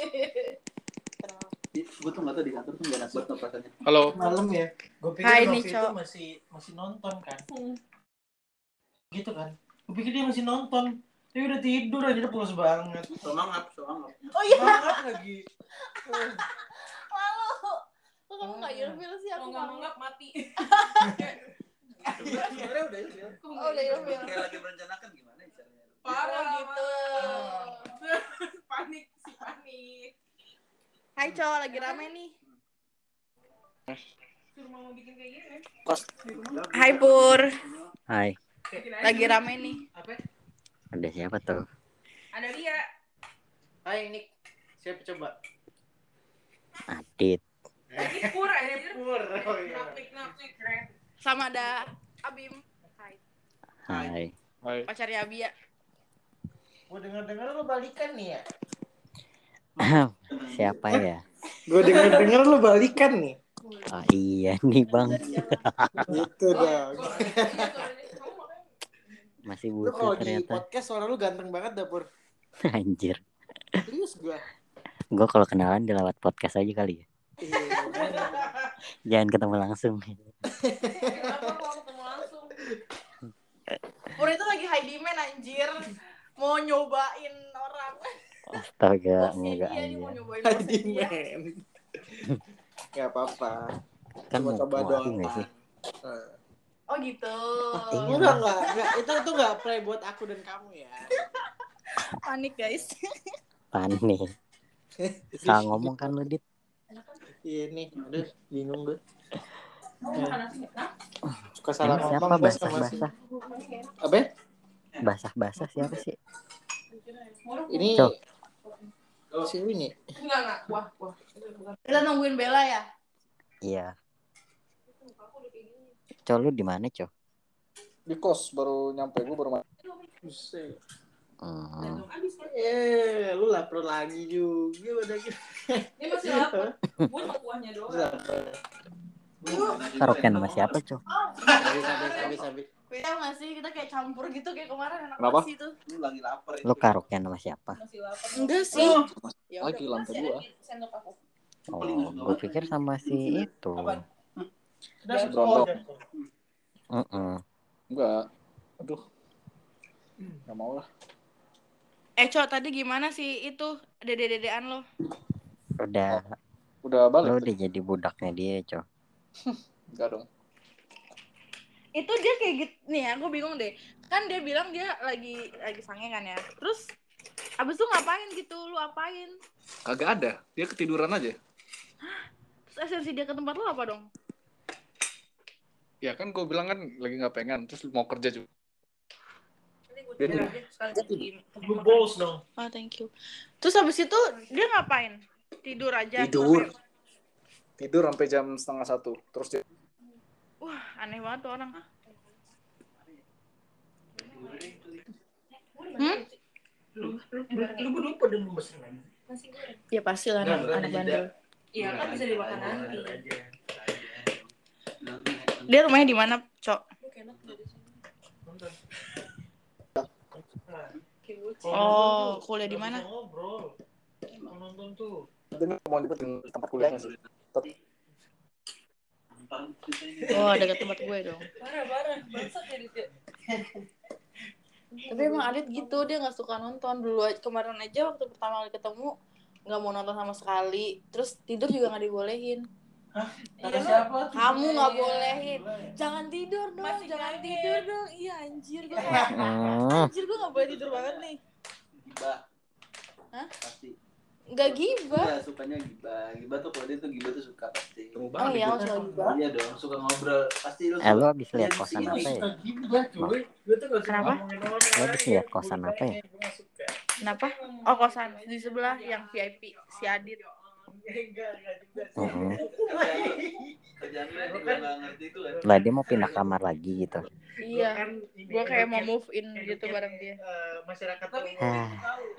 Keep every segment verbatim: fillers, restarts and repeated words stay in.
Gue tuh nggak tahu di kantor tuh nggak enak banget rasanya. Halo. Malam ya. Gue pikir Hai, Novi nih, itu masih masih nonton kan. Hmm. Gitu kan. Gue pikir dia masih nonton. Dia udah tidur aja, udah pulas banget. Semangat, semangat. Oh iya. Semangat lagi. Malu. Kok kamu nggak ilfil sih? Aku nggak mangap mati. Sebenarnya udah ilfil. Oh udah ilfil. Kayak lagi merencanakan gimana caranya. Parah gitu. Panik sih panik. Hai cowok, lagi rame nih. Suruh mama bikin kayak gini. Hai Pur. Hai. Lagi rame nih. Apa? Ada siapa tuh? Ada Lia. Hai Nick. Siapa coba? Adit. Lagi Pur aja. Pur. Oh iya. Napik napik keren. Sama ada Abim. Hai. Hai. Hai. Pacarnya Abi ya. Gue denger-denger lu balikan nih ya. Siapa ya? Gue denger-denger lu balikan nih. Oh iya nih bang. Gitu dong. Masih Lu butuh kalau di ternyata. podcast suara lu ganteng banget dah Pur. Anjir. Serius gue. Gue kalau kenalan di lewat podcast aja kali ya. Iya. Jangan ketemu langsung. Kenapa mau ketemu langsung? Pur itu lagi high demand anjir. Mau nyobain orang. Astaga, Bosnya enggak dia nih aja. mau nyobain bosnya dia. Dimen. Gak apa-apa. Kan Cuma mau coba mau aku nggak doang. sih? Oh gitu. Iya. Enggak, enggak, enggak. Itu itu enggak play buat aku dan kamu ya. Panik guys. Panik. Salah ngomong kan lu Dit. Iya nih, aduh bingung gue. Suka Ini salah siapa ngomong gue sama si. basah-basah? Apa? Basah-basah siapa sih? Ini Cok. si ini. Enggak enggak. Wah wah. Kita nungguin Bella ya. Iya. Cok lu di mana Cok? Di kos baru nyampe gue baru. Buset. Hmm. Eh, lu lapar lagi juga udah gitu. Ini masih lapar. Gue mau kuahnya doang. Karaokean sama siapa Cok? Habis habis habis habis. Beda nggak sih? Kita kayak campur gitu kayak kemarin enak Kenapa? banget sih itu. Lu lagi lapar. Lu karaokean sama siapa? Masih lapar. Enggak sih. Ya Lagi udah, lantai masih dua. ada di sendok aku. Oh, gue pikir sama si itu. Udah Berondong. Heeh. Enggak. Aduh. Enggak mau lah. Eh Cok, tadi gimana sih itu dede-dedean lo? Udah, Udah balik. lu tuh. udah jadi budaknya dia Cok. Enggak dong. Itu dia kayak gitu nih, aku bingung deh. Kan dia bilang dia lagi lagi sange kan ya. Terus abis itu ngapain gitu? Lu apain? Kagak ada. Dia ketiduran aja. Terus esensi dia ke tempat lu apa dong? Ya kan gue bilang kan lagi nggak pengen. Terus mau kerja juga. Jadi gue tidur aja sekali. Blue balls dong. Oh, thank you. Terus abis itu dia ngapain? Tidur aja. Tidur. Sampai- Tidur sampai jam setengah satu. Terus dia Wah, aneh banget tuh orang. Hmm? Lu belum pada belum pesen lagi. Ya pasti lah anak, anak bandel. Iya kan bisa dimakan nanti. Dia rumahnya di mana, Cok? Oh, kuliah di mana? Ngobrol. Mau nonton tuh. mau jemput di tempat kuliahnya sih. Oh, dekat tempat gue dong. Parah parah. Bangsat ya dia. Tapi emang Adit gitu, dia nggak suka nonton dulu. Kemarin aja waktu pertama kali ketemu nggak mau nonton sama sekali. Terus tidur juga nggak dibolehin. Hah? Iya, Kata siapa? Kamu nggak bolehin. Iya. Jangan tidur dong, Masih jangan kaget. tidur dong. Iya anjir gue kayak Hmm. anjir gue nggak boleh tidur banget nih. Gibah. Hah? Pasti. Nggak gibah. Iya, sukanya gibah. Gibah tuh kalau dia tuh gibah tuh suka pasti. Temu Oh banget. iya, gue. aku suka gibah. Iya dong, suka ngobrol. Pasti lu. Eh lu abis lihat Iya, kosan di apa sini. ya? Gila cuy. Gue tuh gak suka Kenapa? ngomongin orang. Lu abis lihat kosan apa ya? Gue gak suka. Kenapa? Oh kosan di sebelah yang V I P si Adit. Enggak, enggak juga sih. Heeh. Kerjaan lu yang juga nggak ngerti itu kan. Lah dia mau pindah kamar lagi gitu. Iya. Kan ini Gue kayak mau educate- move in gitu educate, bareng dia. eh, masyarakat tapi Ah.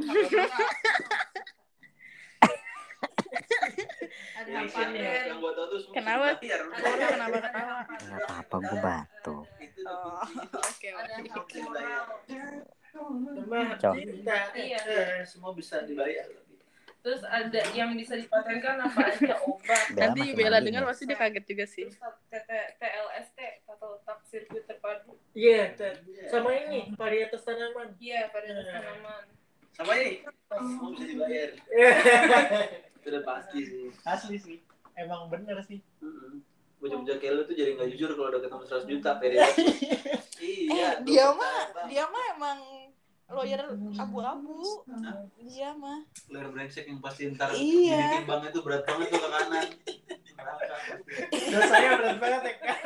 Ada Yang apa yang- ya? yang gua tahu tuh semua Kenapa? bayar. Pur, kenapa ketawa? Nggak apa-apa gue batuk. Itu Oh, oke Ada oke. hak moral. Sama Cok. cinta. Iya. Eh, semua bisa dibayar. Terus ada yang bisa dipatenkan apa aja obat. Bella Nanti masih Bella mandi dengar nggak? pasti dia kaget juga sih. Terus T L S T atau tak sirkuit terpadu. Iya, Ted. Sama ini varietas tanaman. Iya, varietas tanaman. Sama ini. Oh, bisa dibayar. Itu udah pasti sih. Asli sih. Emang bener sih. Heeh. Bocah-bocah kayak lu tuh jadi nggak jujur kalau udah ketemu seratus juta pede. Iya. Eh, dia mah dia mah emang lawyer abu-abu. Dia mah. Lawyer brengsek yang pasti ntar Iya. bikin bank itu berat banget tuh ke kanan. Dosanya berat banget ya kan.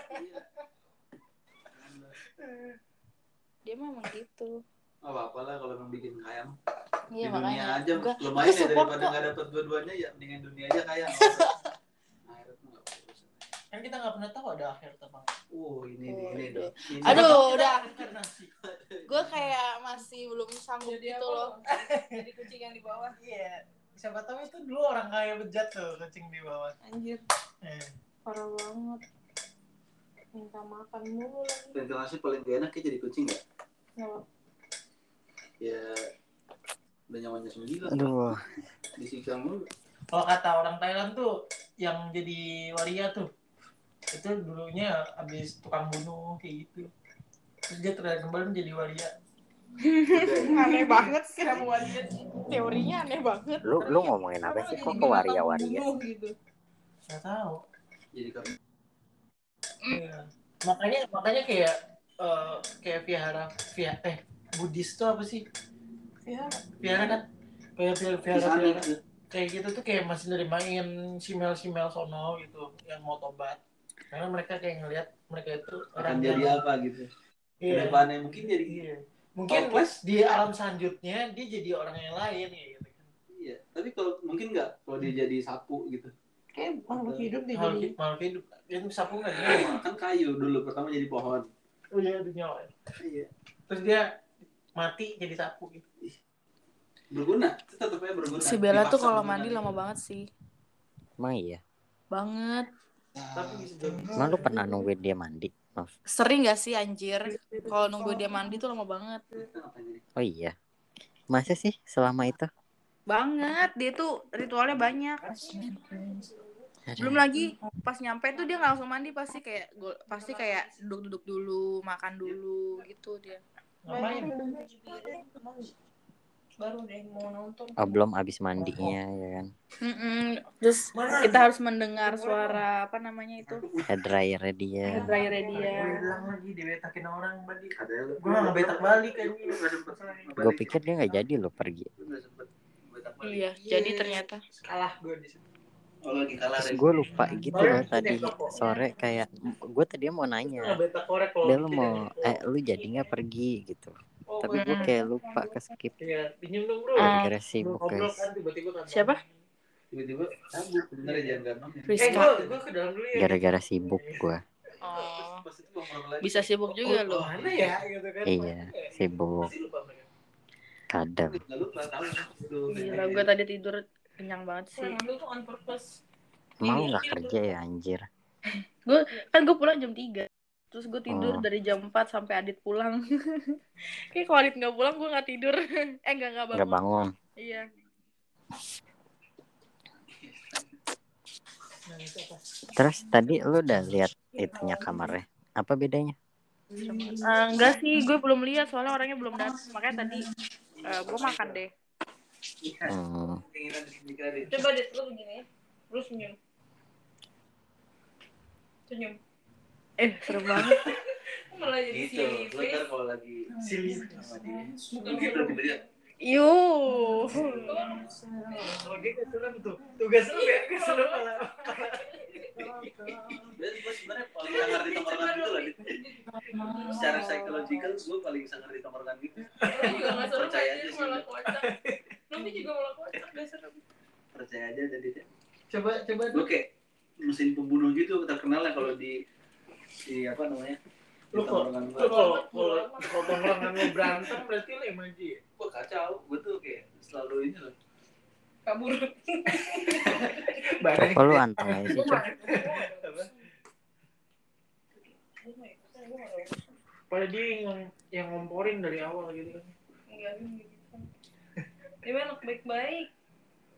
Dia mah emang gitu. Oh, apa lah kalau memang bikin kaya mah. Iya Di dunia makanya. aja Gua- lumayan gua ya support daripada kok. nggak dapat dua-duanya ya mendingan dunia aja kaya. Akhirat mah nggak urusan. Kan kita nggak pernah tahu ada akhir terbang. Oh ini nih Oh, ini iya. dong. Ini. Aduh, udah. Inkarnasi. Gue kayak masih belum sanggup Jadi gitu apa? loh. Jadi kucing yang di bawah. Iya. Siapa tahu itu dulu orang kaya bejat tuh kucing di bawah. Anjir, Eh. parah banget. Minta makan mulu lagi. Ventilasi paling gak enak ya jadi kucing ya. Kenapa? Ya udah nyawanya sembilan. Aduh, Disiksa mulu. Kalau kata orang Thailand tuh yang jadi waria tuh itu dulunya abis tukang bunuh kayak gitu. Terus dia terakhir kembali menjadi waria. Aneh banget sih kamu waria. Teorinya aneh banget. lu lu ngomongin apa sih kok ke waria-waria? Gitu. Nggak tahu. Jadi kan Iya. Makanya makanya kayak eh, kayak vihara via eh Buddhis tuh apa sih? Ya, Vihara kan kayak vihara vihara, Kisah vihara. gitu. Kayak gitu tuh kayak masih nerimain simel-simel sono gitu yang mau tobat. Karena mereka kayak ngelihat mereka itu Akan yang- jadi apa gitu. Iya. Kedepannya mungkin jadi Iya. Mungkin Hopeless. di alam selanjutnya dia jadi orang yang lain ya gitu kan. iya. Tapi kalau mungkin nggak kalau dia jadi sapu gitu. kayak makhluk hidup deh Makhluk jadi. makhluk hidup itu sapu nggak dia? Kan kayu dulu pertama jadi pohon. Oh iya itu nyawa. Iya. Terus dia mati jadi sapu gitu. Berguna. Itu tetap aja berguna. Si Bella tuh Dipaksa kalau berguna mandi gitu. lama banget sih. Emang iya? Banget. Tapi bisa jadi. Emang lu pernah nungguin dia mandi? Maaf. Sering gak sih anjir? Kalau nunggu dia mandi tuh lama banget. Kita ngapain ini? Oh iya. Masa sih selama itu? Banget. Dia tuh ritualnya banyak. Aduh. Belum lagi pas nyampe tuh dia nggak langsung mandi, pasti kayak gua- pasti kayak duduk-duduk dulu, makan dulu gitu dia. Ngapain? Baru deh mau nonton. Oh, belum abis mandinya ya kan? Mm-mm. Terus kita harus mendengar suara apa namanya itu, Hair dryer dia. dryer dia. Gue bilang lagi dibetakin orang tadi. Ada lu. Gue nggak ngebetak balik kan. Lu nggak sempet. Gue pikir dia nggak jadi lo pergi. Lu nggak sempet. Betak balik. Iya, jadi ternyata. Kalah gue di situ. Oh lagi kalah. Terus Ren. gue lupa gitu loh tadi sore kayak gue tadi mau nanya. Ngebetak korek kalau. Dia lu mau eh lu jadi nggak pergi gitu. Oh, Tapi gue kayak lupa ke skip. Iya, pinjem dong bro. Ah. Gara-gara sibuk Ngobrol guys. kan tiba-tiba kan. Siapa? Tiba-tiba cabut. Bener ya jangan gampang ya. Eh Rizka. gue gue ke dalam dulu ya. Gara-gara sibuk gue. Oh, Pas itu nongkrong lagi. bisa sibuk juga Oh, loh. mana ya gitu kan. Iya, sibuk. Pasti lupa mereka. Kadang. Nggak lupa tahu itu. Gila, gue tadi tidur kenyang banget sih. Yang ambil tuh on purpose. Emang lu nggak kerja ya anjir? Kan gue pulang jam tiga. Terus gue tidur Oh. dari jam empat sampai Adit pulang. Kayak kalau Adit nggak pulang gue nggak tidur. Eh nggak nggak bangun. Nggak bangun. Iya. Nah, itu apa? Terus tadi lu udah lihat itunya kamarnya? Apa bedanya? Eh, enggak sih, gue belum lihat soalnya orangnya belum datang. Makanya tadi eh, gue makan deh. Hmm. Keinginan dikredit. Coba deh lu begini. Lu senyum. Senyum. Eh seru banget. Malah jadi Gitu. silly Lu ntar face. kalau lagi Silly. sama dia. Bukan Gitu tiba-tiba. Yuh. Oh dia kesurupan tuh. Tugas lu ya kesurupan malah. Dan gue sebenarnya paling sangar di tongkrongan gitu lah. Dit. Secara psikologikal gue paling sangar di tongkrongan gitu. Lu juga nggak serem Percaya aja aja sih. malah kocak. Lu juga malah kocak gak serem. Percaya aja jadi dia. Coba coba Gue kayak mesin pembunuh gitu terkenal lah kalau di di apa namanya di Lu kok- tongkrongan lu gue. kalau kalau kalau tongkrongan lu berantem berarti lu emoji ya? Gue kacau, gue tuh kayak selalu ini loh. Kabur. Kok lu anteng aja sih, Cok? Padahal dia yang yang ngomporin dari awal gitu kan. Enggak gitu. Dia mah anak baik-baik.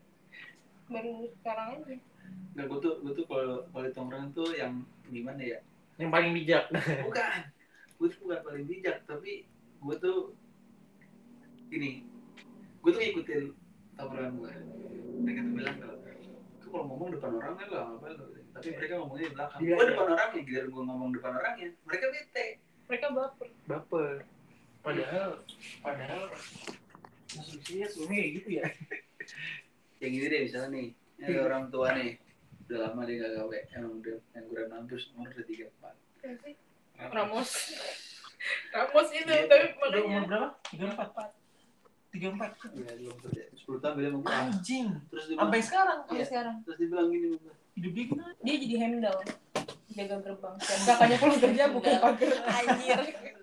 Baru sekarang aja. Nggak, gue tuh gue tuh kalau kalau di tongkrongan tuh yang gimana ya? Yang paling bijak. Bukan, gue tuh bukan paling bijak, tapi gue tuh gini, gue tuh ngikutin tongkrongan gue. Mereka tuh bilang kalau "Kau kalau ngomong depan orang kan lah apa lo?" Tapi mereka ngomongnya di belakang. Iya, Gue iya. depan orangnya, giliran gue ngomong depan orangnya, mereka bete. Mereka baper. Baper. Padahal padahal instruksinya sebenarnya kayak gitu ya. Yang gini deh misalnya nih, ada orang tua nih, udah lama dia nggak gawe, emang udah pengangguran mampus, umur udah tiga empat. Ramos. Ramos itu Iya. tapi Udah umur makanya berapa? tiga puluh empat. tiga puluh empat. Ya belum kerja, sepuluh tahun dia mau pulang. Anjing. Terus dia Sampai bilang, sekarang sampai sekarang terus dia bilang gini sama gue, hidup dia gimana? dia jadi handle jaga gerbang. Dan kakaknya pulang kerja buka pagar. Anjir.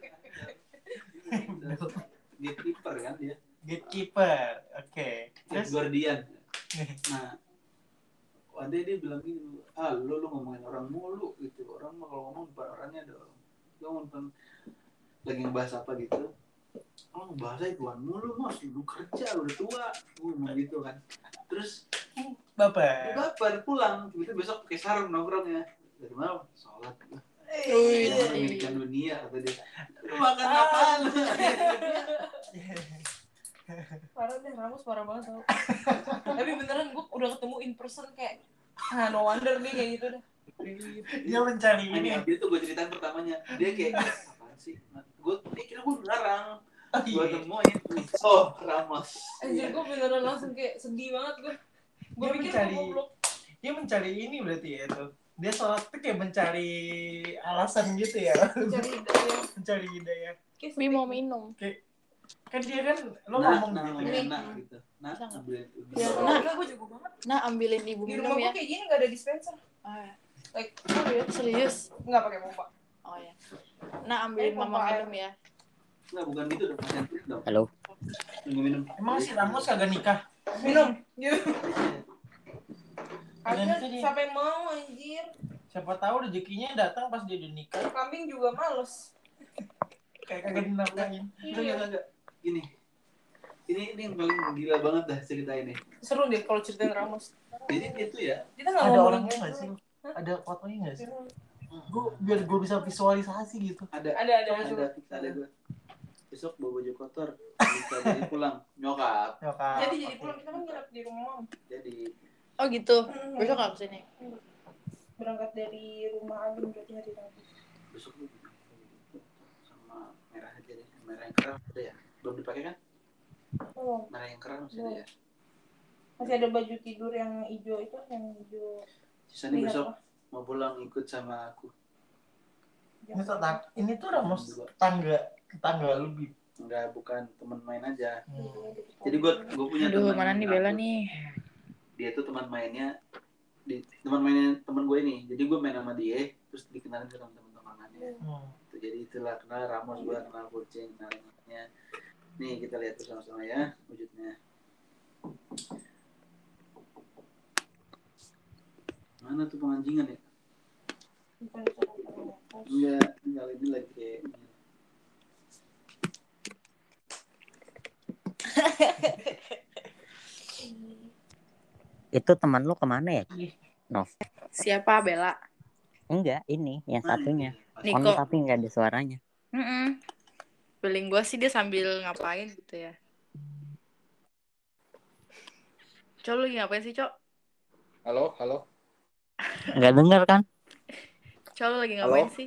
dia kiper kan dia, Gatekeeper. Oke. Terus Terus guardian. Nah, ada dia bilang gini, ah lu lu ngomongin orang mulu gitu, orang mah kalau ngomong depan orangnya dong. Lu ngomong lagi ngebahas apa gitu, oh bahasa Tuhan mulu mas, lu kerja lu udah tua, gue ngomong gitu kan. Terus dia baper. baper pulang, tiba-tiba besok pakai sarung nongkrongnya. Dari mana? Sholat. Wih. Jangan memikirkan dunia kata dia. Lu makan apaan? Parah deh, Ramos parah banget tau. Tapi beneran gue udah ketemu in person kayak ah no wonder dia kayak gitu dah. Dia mencari Ini ini. dia tuh gue ceritain pertamanya, dia kayak apaan sih? Gue dia kira gue ngarang. Gue temuin, oh Ramos. Anjir gue beneran langsung kayak sedih banget gue. Gue Dia pikir mencari gue goblok. dia mencari ini berarti ya itu. Dia sholat tuh kayak mencari alasan gitu ya. Cari hidayah. Mencari hidayah. Kayak Bi sedih. mau minum. Kan dia kan lo Nah, ngomong nah, gitu ngomongnya ya. nah gitu. Nah, Bisa nggak? ambil Ya, Oh, nah. enggak gue jago banget. Nah, ambilin ibu Di minum rumah ya. gue kayak gini gak ada dispenser. Ah, Like, oh ya, serius. nggak pakai pompa. Oh ya. Nah, ambilin Eh, mama pompa minum ya. Enggak, bukan gitu dong, pasien tuh dong. Halo. Minum minum. Emang si Ramos kagak nikah? Minum. Gitu. Dan Akhirnya itu dia. siapa yang mau anjir? Siapa tahu rezekinya datang pas dia udah nikah. Kambing juga males. Kayak kagak dinafkahin. Enggak, enggak, enggak. Gini. Ini ini yang paling gila banget dah cerita ini. Seru deh kalau ceritain Ramos. Jadi itu ya, Kita nggak Ada ngomongin orangnya nggak gitu. sih? Ada fotonya nggak sih? Gue biar gue bisa visualisasi gitu. ada Ada ada ada coba. ada gue. Besok bawa baju kotor, bisa jadi pulang nyokap. Nyokap. Jadi jadi pulang kita kan nginep di rumah mam. Jadi Oh gitu. Hmm. Besok nggak kesini. Berangkat dari rumah Agung berarti hari Rabu. besok gue sama merah aja deh, merah yang kerah ada ya, belum dipakai kan? Oh, Merah yang kerah masih ada ya. masih ada baju tidur yang hijau itu yang hijau. Sisanya Lihat besok lah. mau pulang ikut sama aku. Ini tuh tang- ini tuh Ramos tangga tangga lu Bib. Enggak, bukan teman main aja. Hmm. Jadi gue gue punya Aduh, teman. mana nih Bella aku. nih? Dia tuh teman mainnya di teman mainnya teman gue ini. Jadi gue main sama dia, terus dikenalin ke teman-teman-temannya. Hmm. Itu jadi itulah kenal Ramos, gue kenal kucing, kenalnya. Nih kita lihat bersama-sama ya wujudnya. Mana tuh penganjingan ya? Bukan itu, bukan itu. Enggak, enggak ini lagi kayak Itu teman lu kemana ya? Siapa Bella? Enggak, ini yang satunya. Niko. On tapi enggak ada suaranya. Mm-mm. Feeling gue sih dia sambil ngapain gitu ya. Cok, lu lagi ngapain sih, Cok? Halo, halo. Enggak dengar kan? Cok, lu lagi ngapain Halo? sih?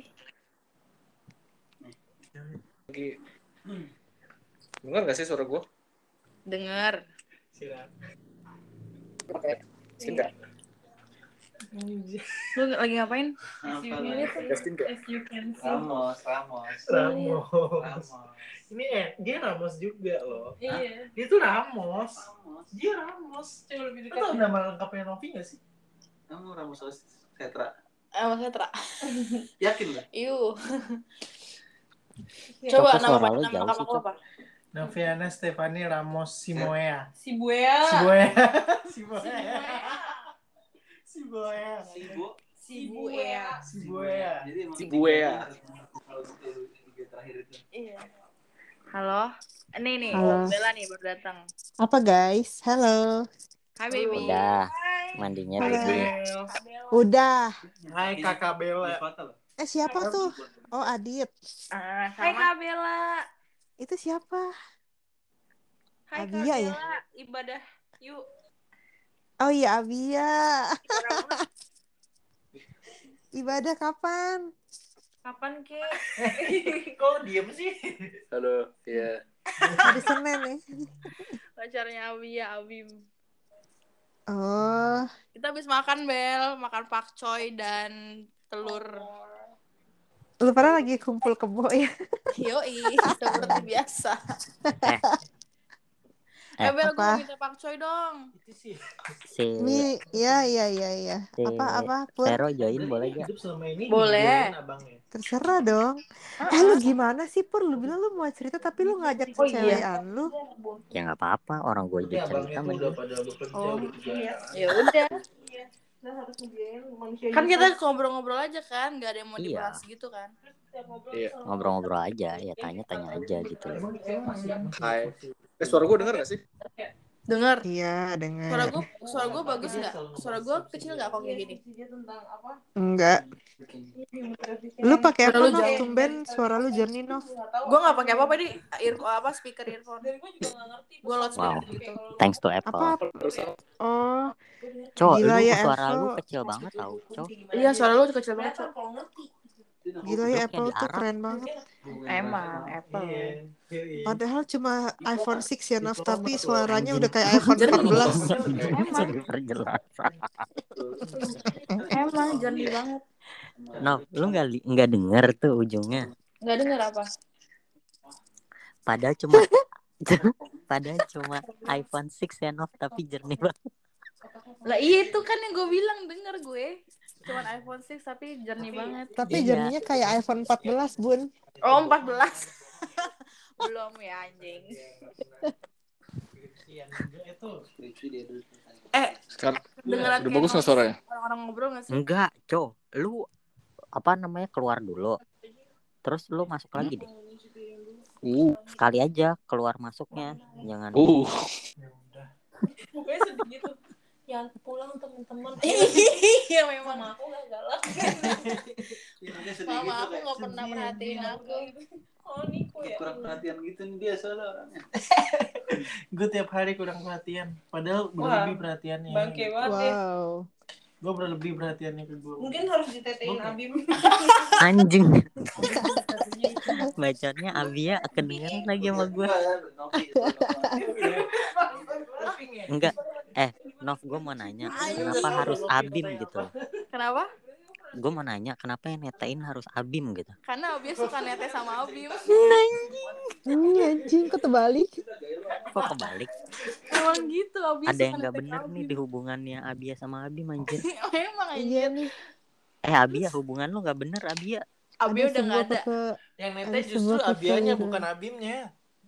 Lagi. Dengar gak sih suara gue? Dengar. Silakan. Oke. Tidak. Lu lagi ngapain? As you apa can- lagi? Justin gak? as you can see. Ramos, Ramos, Ramos. Ramos, Ini eh, dia Ramos juga loh. Iya. Dia tuh Ramos. Ramos. Dia Ramos. Coba lebih Lu dekat. tau nama lengkapnya Novi gak sih? Kamu Ramos Setra. Eh, Mas Hetra. Yakin lah. Iu. Iya. Coba Cok, nama suara lu nama jauh lengkap sih, aku Cok. apa? Noviana Stefani Ramos Simoea. Si Buea. Simoea. Simoea. Simoea. Sibo. Si Buea. Simoea. Jadi emang Si Buea. kalau gitu tiga terakhir itu. Iya. Halo. Nih nih, Halo. Bella nih baru datang. Apa guys? Halo. Hai baby. Udah. Hai. Mandinya Hai dulu. Bel. Udah. Hai Kakak Bella. Eh siapa tuh? Oh Adit. Ah, Hai sama. Kak Bella. Itu siapa? Hai Kak Abia ya? Bella. Ibadah yuk. Oh iya Abia. Ibadah mana? Ibadah kapan? Kapan Ki? Kok diem sih? Halo, iya. Hari Senin nih. Pacarnya Abi ya, Abim. Oh, Kita habis makan, Bel. Makan pakcoy dan telur. lu pada lagi kumpul kebo ya? Yoi, seperti biasa. Eh, Eh, Bel, gue mau apa? minta pakcoy dong. Itu sih. si Mi, ya ya ya ya. si Apa apa Pur? Vero join boleh gak? Hidup selama ini Boleh. dijoin abangnya. Terserah dong. Eh lu gimana sih Pur? Lu bilang lu mau cerita tapi lu ngajak Oh, iya. cewekan lu. Ya nggak apa-apa, orang gue Tapi juga abangnya cerita tuh sama udah dia. pada bekerja, Oh, udah kerja. Ya udah. Kita harus ngebiayain manusia Kan juga. kita ngobrol-ngobrol aja kan, nggak ada yang mau Iya. dibahas gitu kan. Setiap ngobrol Iya. selalu Ngobrol-ngobrol aja, ya tanya-tanya aja gitu. Emang kayak masih Hai. Eh suara gue denger gak sih? Dengar. Iya, Suara dengar. gue, suara gue bagus nggak? Suara gue kecil nggak kok kayak gini? dia tentang apa? Enggak. Lu pakai apa Suara lu Nov? jauh. Tumben suara lu jernih Nov. Gue nggak pakai apa-apa di ear apa speaker earphone. Dan gue juga gak ngerti. Gue loudspeaker Wow. gitu. Thanks to Apple. Apa? Oh, Cok, Gila lu ya, suara Apple. lu kecil banget tau, Cok. Iya, suara lu kecil banget. Cok. Kalau ngerti. gila ya Duduknya Apple di tuh Arab. keren banget. Emang Apple. Iya. Padahal cuma iPhone enam ya Nov, tapi suaranya udah kayak iPhone empat belas. Emang. Perjelas. Emang jernih banget. Nov, lu nggak li- nggak denger tuh ujungnya. Nggak denger apa? Padahal cuma padahal cuma iPhone enam ya Nov, tapi jernih banget. Lah iya itu kan yang gue bilang, denger gue. Cuman iPhone enam tapi jernih banget. Tapi Iya. jernihnya kayak iPhone empat belas, Bun. Oh, empat belas. Belum ya anjing. Eh, Sekarang dengeran udah bagus nggak suaranya? orang-orang ngobrol nggak sih? Enggak, Cok. Lu apa namanya keluar dulu. Terus lu masuk lagi deh. Uh, Sekali aja keluar masuknya. Jangan uh. Pokoknya sedih gitu. Ya pulang teman-teman. Iya memang. Sama aku gak galak. Mama aku nggak pernah merhatiin aku. Oh Niko ya. Kurang perhatian gitu nih dia soalnya orangnya. Gue tiap hari kurang perhatian. Padahal Wah, berlebih perhatiannya. Bangke banget ya. Wow. Gue berlebih perhatiannya ke gue. Mungkin harus ditetein Oke. Abim. anjing. Bacotnya Abia kedengeran lagi sama gue. Enggak. Eh, Nov, gue mau nanya, kenapa harus Abim gitu? Kenapa? Gue mau nanya, kenapa yang netain harus Abim gitu? Karena Abi suka nete sama Abim. Hmm, anjing kok terbalik. Kok kebalik? Emang gitu Abi Ada suka yang nggak nete bener Abim. nih di hubungannya Abia sama Abim anjir. Emang Iya anjir. nih. Eh Abia, hubungan lu nggak bener Abia. Abi Ada udah nggak sebuah ada. kese- Yang nete Ada justru sebuah Abianya kesalahan. bukan Abimnya.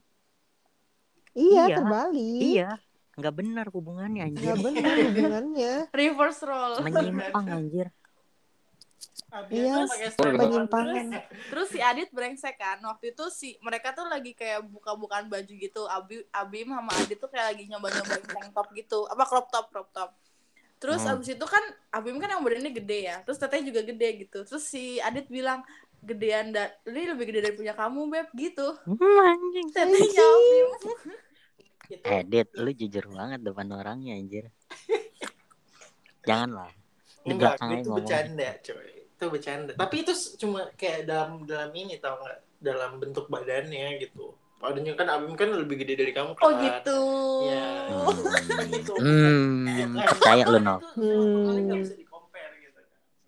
Iya, Iya. terbalik. Iya, nggak bener hubungannya anjir. Nggak benar hubungannya. Reverse role. Menyimpang anjir. Iya, pakai style. penyimpangan. Terus si Adit brengsek kan. Waktu itu si mereka tuh lagi kayak buka-bukaan baju gitu. Abi Abim sama Adit tuh kayak lagi nyoba-nyobain tank top gitu. Apa crop top, crop top. Terus Hmm. abis itu kan Abim kan yang badannya gede ya. Terus tetenya juga gede gitu. Terus si Adit bilang, gedean da- ini lebih gede dari punya kamu, Beb, gitu. Hmm, anjing. Tetenya Abim. Edit, lu jujur banget depan orangnya anjir. Janganlah. Di Enggak, belakang aja itu ngomong. bercanda coy. Itu bercanda. Tapi itu cuma kayak dalam dalam ini tau nggak? Dalam bentuk badannya gitu. Padahal kan Abim kan lebih gede dari kamu kan. Oh gitu. Iya. Gitu. Hmm, percaya lu Nov. Makanya nggak bisa di-compare gitu.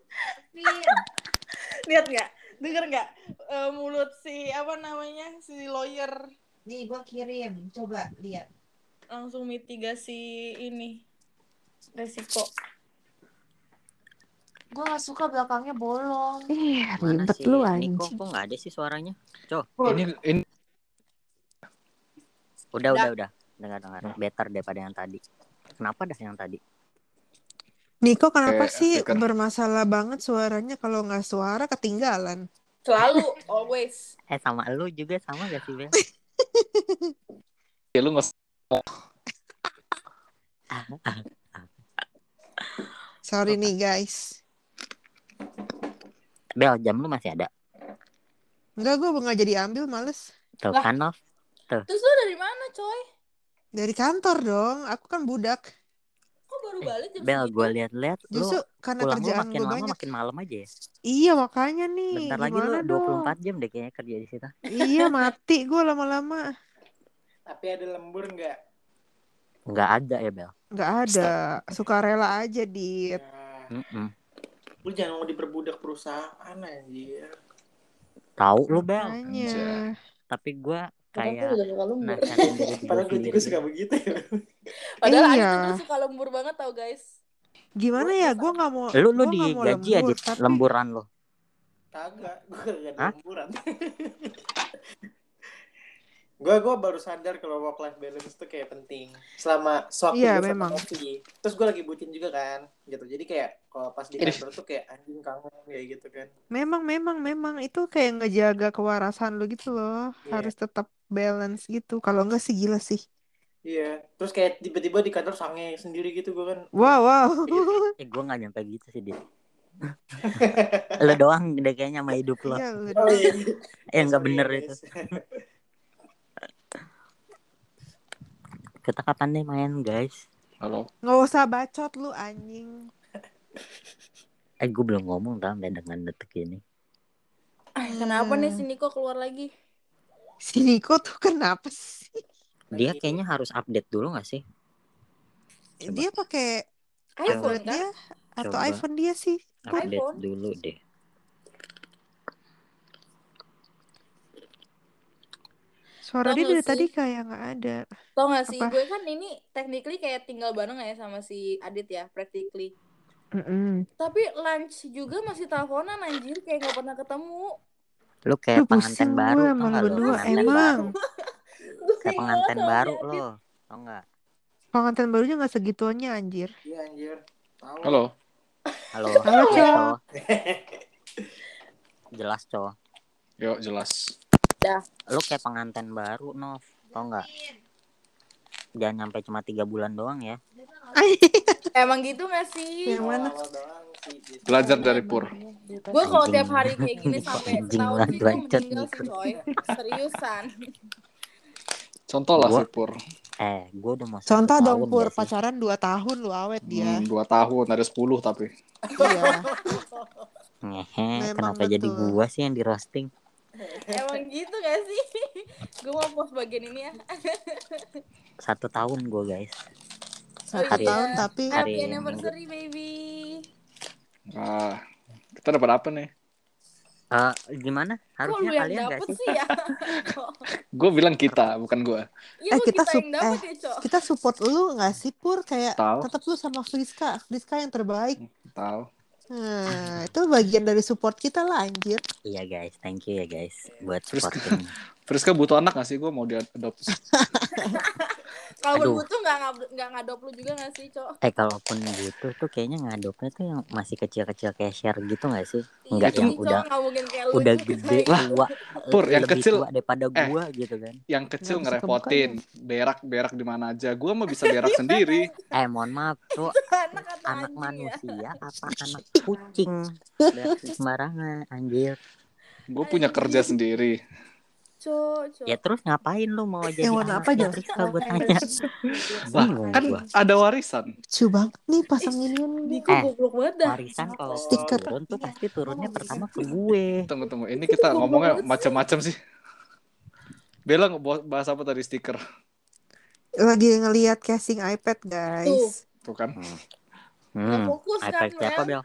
Lihat nggak? Denger nggak? Eh, mulut si apa namanya? Si lawyer Nih, gua kirim. Coba lihat. langsung mitigasi ini resiko. Gue gak suka belakangnya bolong. Ih, Mana ribet sih? lu Ini kok anjing. kok nggak ada sih suaranya? Cow, Ini ini udah udah udah. Dengar dengar. Better daripada yang tadi. Kenapa dah yang tadi? Niko kenapa Kayak sih speaker. bermasalah banget suaranya? Kalau nggak suara ketinggalan. Selalu, always. Eh sama lu juga sama gak sih Bel? ya lu nggak Sorry nih guys. Bel, jam lu masih ada? Enggak, gue nggak jadi ambil, males. Tuh Lah. kan, Nov? Terus lu dari mana, coy? Dari kantor dong, aku kan budak. Kok baru balik jam Bel, segitu? gue liat-liat lu Justru karena pulang lu kerjaan makin gue lama banyak. makin malam aja ya. Iya makanya nih. Bentar lagi lu Gimana dua puluh dong? empat jam deh kayaknya kerja di situ. Iya mati gue lama-lama. Tapi ada lembur nggak? Nggak ada ya, Bel? Nggak ada. Sukarela aja, Dit. Nah, Mm-mm. lu jangan mau diperbudak perusahaan anjir. Tahu lu, Bel. Makanya. Tapi gue Padahal kayak gue juga suka lembur. nasihatin diri gue Padahal gue sendiri. juga suka begitu ya. Padahal Iya. Adit tuh suka lembur banget tau guys. Gimana ya? Gue nggak mau. Lu lu gua nggak mau digaji lembur, aja tapi- lemburan lo. Kagak, gue gak Hah? ada lemburan. Gue gue baru sadar kalau work life balance tuh kayak penting. Selama sewaktu Iya, gue sama memang. Novi. Terus gue lagi bucin juga kan, gitu. Jadi kayak kalau pas di kantor tuh kayak anjing kangen kayak gitu kan. Memang, memang, memang itu kayak ngejaga kewarasan lu gitu loh. Iya. Harus tetap balance gitu. Kalau enggak sih gila sih. Iya. Terus kayak tiba-tiba di kantor sange sendiri gitu gue kan. Wow, wow. Eh gue nggak nyampe gitu sih, Dit. Lo doang deh kayaknya sama hidup lo. Iya, lu Oh iya. Eh nggak Sorry, bener guys. itu. Kita kapan nih main, guys? Halo. nggak usah bacot lu anjing. Eh gue belum ngomong tau dengan detik ini. Ah, kenapa nih si Niko keluar lagi? Si Niko tuh kenapa sih? Dia kayaknya harus update dulu nggak sih? Coba. Dia pakai iPhone Android kan? dia atau Coba. iPhone dia sih? Update iPhone. dulu deh. Suara Tau dia nggak dari sih? tadi kayak nggak ada. Tau gak sih, Apa? gue kan ini technically kayak tinggal bareng ya sama si Adit ya, practically. Mm-mm. Tapi lunch juga masih teleponan anjir, kayak gak pernah ketemu. Lu Lu kayak pengantin pusing baru gue tau emang nggak lu? berdua Pengantin emang. baru. Gue Kayak pengantin sama baru si Adit. lo, tau nggak? Pengantin barunya nggak segituannya anjir. Iya anjir. Tahu. Halo. Halo. Halo, Iya, Cok. Cok. Jelas, Cok. Yuk, jelas. Lu kayak pengantin baru, Nov. Tau nggak? Jangan nyampe cuma tiga bulan doang ya. Emang gitu gak sih? Yang mana? Awal-awal doang sih. Gitu. Belajar dari Pur. Gue kalau Anjing. tiap hari kayak gini sampai Anjing setahun banget, sih gue bacot meninggal Niko. sih coy. Seriusan. Contoh lah Gua- si Pur. Eh, gue udah mau satu Contoh dong tahun Pur, nggak sih? pacaran dua tahun lu awet dia. Hmm, dua tahun, ada sepuluh tapi. Iya. Ngehe, Memang kenapa jadi betul. gua sih yang di roasting? Emang gitu gak sih? Gue mau post bagian ini ya. Satu tahun gue, guys. Satu Hari- tahun tapi hari- Happy anniversary baby. Nah, kita dapat apa nih? Eh, gimana? Kok lu Harusnya yang kalian nggak dapet sih? sih ya? Gue bilang kita, bukan gue. Iya Eh, lu kita kita yang sup- dapet eh. ya Cok. kita support lu nggak sih Pur? Kayak Tahu. tetap lu sama Friska, Friska yang terbaik. Tahu. Nah, itu bagian dari support kita lah anjir. Iya guys, thank you ya guys buat Terus- supporting. Friska butuh anak gak sih? Gue mau diadopsi. Kalau Aduh. berbutuh nggak ngab- nggak ngadop lu juga nggak sih Cok? Eh kalaupun butuh tuh kayaknya ngadopnya tuh yang masih kecil-kecil kayak share gitu gak sih? Iya Enggak Itu- yang sih, Cok, udah nggak mungkin kayak lu udah juga. gede Lah, tua, Pur, yang lebih kecil- tua daripada eh. gua gitu kan. Yang kecil Nggak bisa ngerepotin. Berak-berak di mana aja. Gue mah bisa berak sendiri. Eh mohon maaf tuh, Anak atau anak anjing ya? manusia apa anak kucing? Berak sembarangan anjir. Gue punya kerja sendiri. Cok, Cok. Ya terus ngapain lu mau jadi Yang warna anak apa, dari Jel? Friska gue tanya. Bingung Kan gua. ada warisan. Lucu banget nih pasang ini nih. Niko Eh, goblok banget dah. Warisan kalau Stiker. turun tuh pasti turunnya pertama ke gue. Tunggu, tunggu. Ini kita ngomongnya macam-macam sih. Bella ngebahas bahas apa tadi stiker? Lagi ngelihat casing iPad guys. Tuh kan. Hmm, fokus kan, iPad siapa Mel? Bel?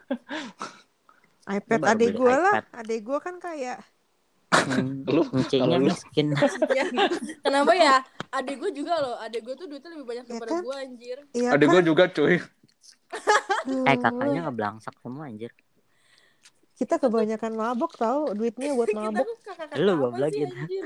iPad Lu baru adek beli gue lah. iPad. Adek gue kan kayak Hmm, Lu, Enciknya kalau lu- miskin. Iya. Kenapa ya? Adik gue juga loh. Adik gue tuh duitnya lebih banyak Ya daripada kan? gue anjir. iya Ada kan? gue juga cuy. Aduh, Eh kakaknya ngeblangsak semua anjir. kita kebanyakan mabok tahu duitnya buat Kita mabok. tuh kakak-kakak Lu apa goblok sih gitu. anjir?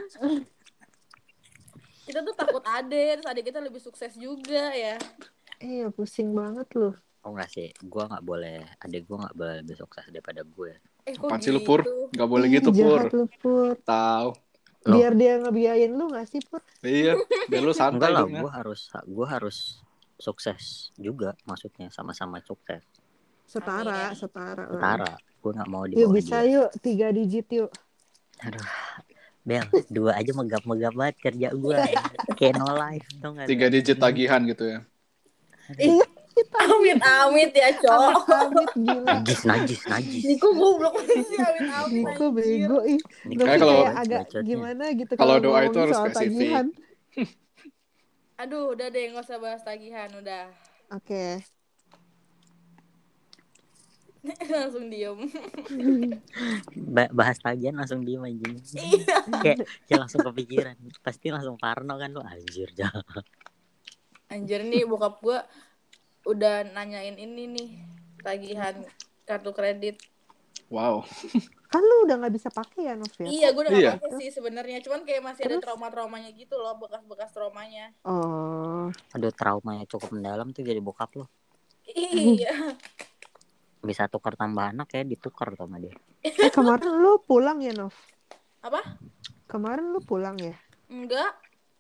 Kita tuh takut adik, terus adik kita lebih sukses juga ya. Iya pusing banget loh. Oh enggak sih, gue nggak boleh. Adik gue nggak boleh lebih sukses daripada gue. Eh kok Apaan sih lu gitu? Pur? Gak boleh Ih, gitu Pur. jahat lu Pur. Tahu. Loh. Biar dia ngebiayain lu gak sih Pur? Iya, biar lu Enggak santai lah, hidupnya. gue harus gue harus sukses juga, maksudnya sama-sama sukses. Setara, Amin. setara. lah. Setara. Gue nggak mau di Yuk bawah bisa dia. yuk tiga digit yuk. Aduh, Bel, dua aja megap-megap banget kerja gue. Kayak no life, tau gak? Tiga digit tagihan gitu ya. Ih, amit-amit ya, Cok. Amit-amit gila. Najis, najis, najis. Niko goblok sih, amit-amit Niko anjir. bego ih. Ini Novi Kayak kalau- kayak agak bacotnya. gimana gitu Kalau kalau doa itu ngomongin harus soal spesifik. tagihan. Aduh, udah deh, nggak usah bahas tagihan, udah. Oke. Langsung diem. Ba- bahas tagihan langsung diem aja. Iya. Kayak, kayak langsung kepikiran. Pasti langsung parno kan lu, anjir dah. Anjir nih, bokap gua udah nanyain ini nih, tagihan kartu kredit. Wow. Kan lu udah nggak bisa pakai ya Novi? Iya, gue udah Iya. gak pakai sih sebenarnya, cuman kayak masih ada Terus? trauma-traumanya gitu loh, bekas-bekas traumanya. Oh. Aduh, traumanya cukup mendalam tuh jadi bokap lo. Iya. Bisa tukar tambah anak ya, ditukar sama dia. Eh kemarin lu pulang ya Nov? Apa? Kemarin lu pulang ya? Enggak.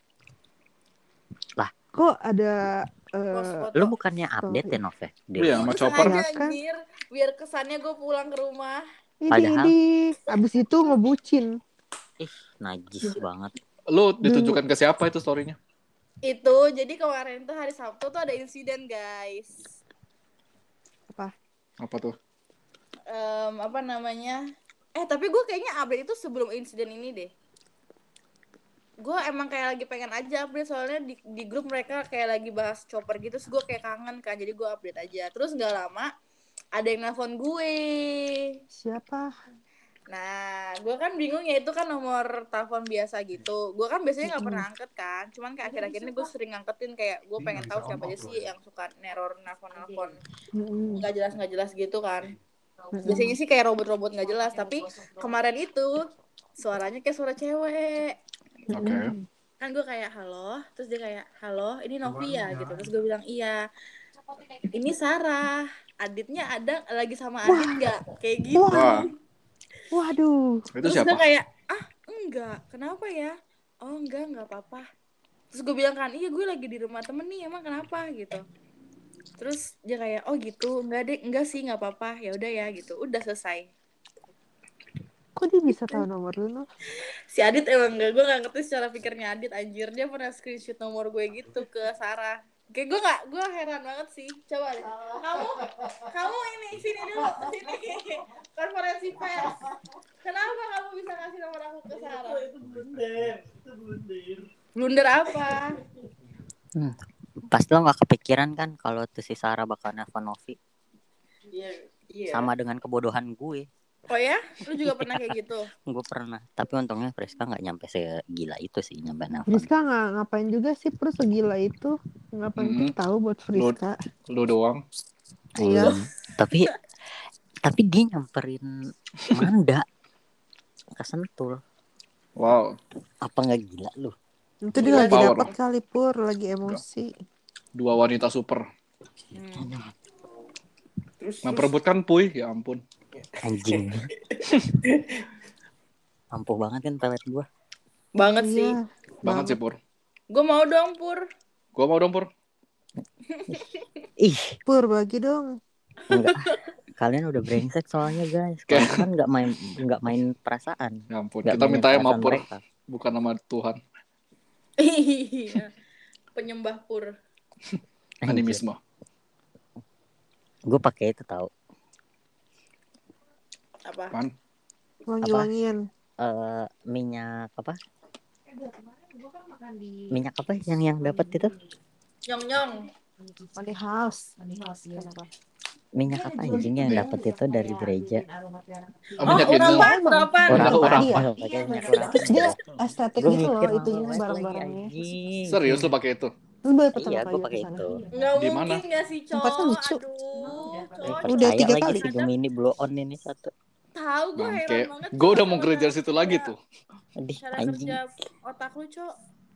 Kok ada eh, Post foto. Lu bukannya update ya, Nov ya? Di Iya, rumah? sama chopper. Sengaja, Ya kan? anjir, biar kesannya gue pulang ke rumah. ini Padahal- ini abis itu ngebucin. Ih, najis banget. Lu ditunjukkan ke siapa itu story-nya? Itu, jadi kemarin tuh hari Sabtu tuh ada insiden, guys. Apa tuh? Em, apa namanya? Eh, tapi gue kayaknya update itu sebelum insiden ini deh. Gue emang kayak lagi pengen aja update, soalnya di, di grup mereka kayak lagi bahas chopper gitu, terus gue kayak kangen kan, jadi gue update aja. Terus nggak lama ada yang nelfon gue. Siapa? Nah, gue kan bingung ya, itu kan nomor telepon biasa gitu. Gue kan biasanya nggak pernah angkat kan, cuman kayak akhir-akhir ini gue sering angketin, kayak gue pengen tahu siapa aja sih yang suka neror nelfon-nelfon Mm-mm. nggak jelas nggak jelas gitu kan. Mm-mm. Biasanya sih kayak robot-robot nggak jelas, tapi kemarin itu suaranya kayak suara cewek. Oke. Kan gue kayak halo, terus dia kayak halo, ini Novia gitu. Terus gue bilang iya, ini Sarah, Aditnya ada lagi sama Adit nggak? Kayak gitu. Wah, Waduh. itu Terus siapa? gue kayak ah enggak, kenapa ya? Oh enggak nggak apa-apa. Terus gue bilang kan iya gue lagi di rumah temen nih, emang kenapa gitu. Terus dia kayak oh gitu, enggak deh, enggak sih nggak apa-apa, ya udah ya gitu, udah selesai. Kok dia bisa tahu nomor lu Nov? Si Adit emang enggak, gue gak ngerti secara pikirnya Adit, anjir. Dia pernah screenshot nomor gue gitu ke Sarah. Kayak gue gak, gue heran banget sih. Coba deh, kamu, kamu ini, sini dulu, sini. Konferensi pers. Kenapa kamu bisa kasih nomor aku ke Sarah? Itu blunder, itu blunder. Blunder apa? Hmm. Pasti lo gak kepikiran kan kalau tuh si Sarah bakal nelfon Novi. Iya, iya. Sama dengan kebodohan gue. Oh ya? Lu juga pernah kayak gitu? Gue pernah. Tapi untungnya Friska gak nyampe segila itu sih, nyampe nelfon. Friska nggak ngapain juga sih, Pur segila itu nggak penting Mm-mm. tahu buat Friska. Lu doang. Iya. Hmm. Tapi tapi dia nyamperin Manda ke Sentul. Wow. Apa nggak gila lu? Itu dia lagi Power. dapat kali Pur, lagi emosi. Dua wanita super. Hmm. Terus, Memperebutkan Puy, ya ampun. Anjing. Ampuh banget kan pelet gua. banget sih. Iya. Banget sih, Pur. Gue mau dong, Pur. Gua mau dong, Pur. Ih, Pur bagi dong. enggak. Kalian udah brengsek soalnya guys. Kalian kan nggak main nggak main perasaan. Ya ampun. Nggak Kita mainin minta sama perasaan Pur, mereka. bukan nama Tuhan. Iya. Penyembah Pur. Animisme. Gue pakai itu tahu. Apa? Apaan? Wangi-wangian. Eh minyak apa? Minyak apa yang yang dapat itu? Nyong-nyong. Money house. Minyak apa anjing yang dapat itu dari gereja? Oh, minyak oh, itu. urapan, urapan. Orang- orang. Iya. Pakai minyak urapan. Terus dia estetik Gua gitu loh mikir itunya banget barang-barangnya. lagi, anjing. Serius lu pakai itu? Terus baru pertama Iya, kali gue ke pakai sana. itu. Nggak Di mungkin mana? nggak sih, Cok? Tempatnya lucu. Aduh, Eh, Cok. Udah percaya tiga lagi kali. si Gemini blow on ini satu. Tahu gue heran Bangke. banget. Gue Cok, udah mau sama kerja cara situ lagi kerja- tuh. Aduh, Cara anjing. kerja otak lu, Cok.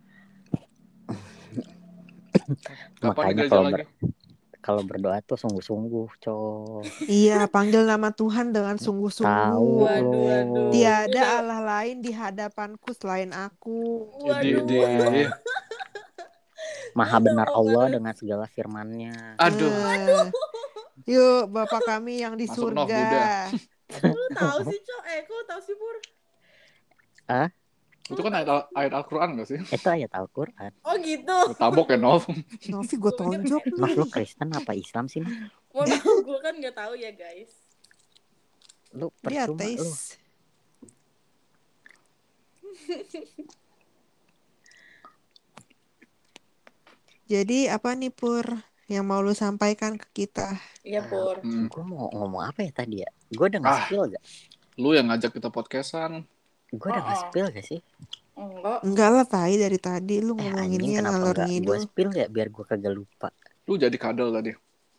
Kapan Makanya nih gereja kalau lagi? ber- kalau berdoa tuh sungguh-sungguh, Cok. Iya, panggil nama Tuhan dengan Tahu sungguh-sungguh. Waduh, lo. waduh. Tiada Udah. Allah lain di hadapanku selain aku. Di, Waduh. di, di- Maha Udah, benar mau Allah banget. dengan segala firman-Nya. Aduh. Eh, Yuk, Bapak kami yang di Masuk, Nov, surga. Buddha. Lu tahu sih, Cok? Eh, kok lu tahu sih, Pur? Ah, Itu kan ayat, Al- ayat Al-Quran gak sih? itu ayat Al-Quran. Oh gitu. Lu tabok ya, Nov. Novi gue tonjok Nov, nih. lu Kristen apa Islam sih? Nov? Mohon maaf, gue kan nggak tahu ya, guys. Lu Dia percuma lu. ateis. Jadi apa nih Pur yang mau lu sampaikan ke kita? Iya, Pur. Hmm. Gue mau ngomong apa ya tadi ya? Gue udah Ah. nge-spill gak? Lu yang ngajak kita podcastan. Gue udah Oh, oh. nge-spill gak sih? Enggak. Enggak lah tai dari tadi lu Eh anjing ngomonginnya kenapa ngalor enggak gue ngidul. spill ya biar gue kagak lupa. Lu jadi kadal tadi.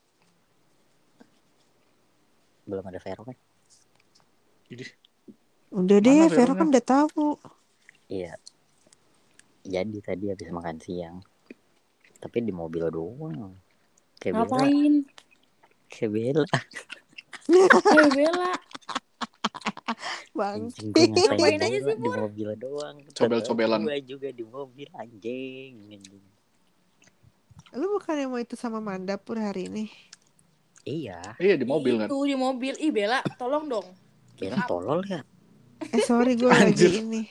Belum ada Vero kan? Idih. Udah deh, Mana Vero Veronya? kan udah tahu. Iya. Jadi tadi habis makan siang. Tapi di mobil doang. Kayak Bella. Ngapain? Kayak Bella. Kayak Bella. Bang. Anjing gue ngapain Ngapain aja Bella sih, di mobil doang. Cobel-cobelan. Gue juga di mobil anjing. anjing. Lu bukannya mau itu sama Manda Pur hari ini? Iya. Iya, di mobil kan. Itu di mobil. Ih, Bella, tolong dong. Bella tolol ya. Eh sorry gue lagi ini.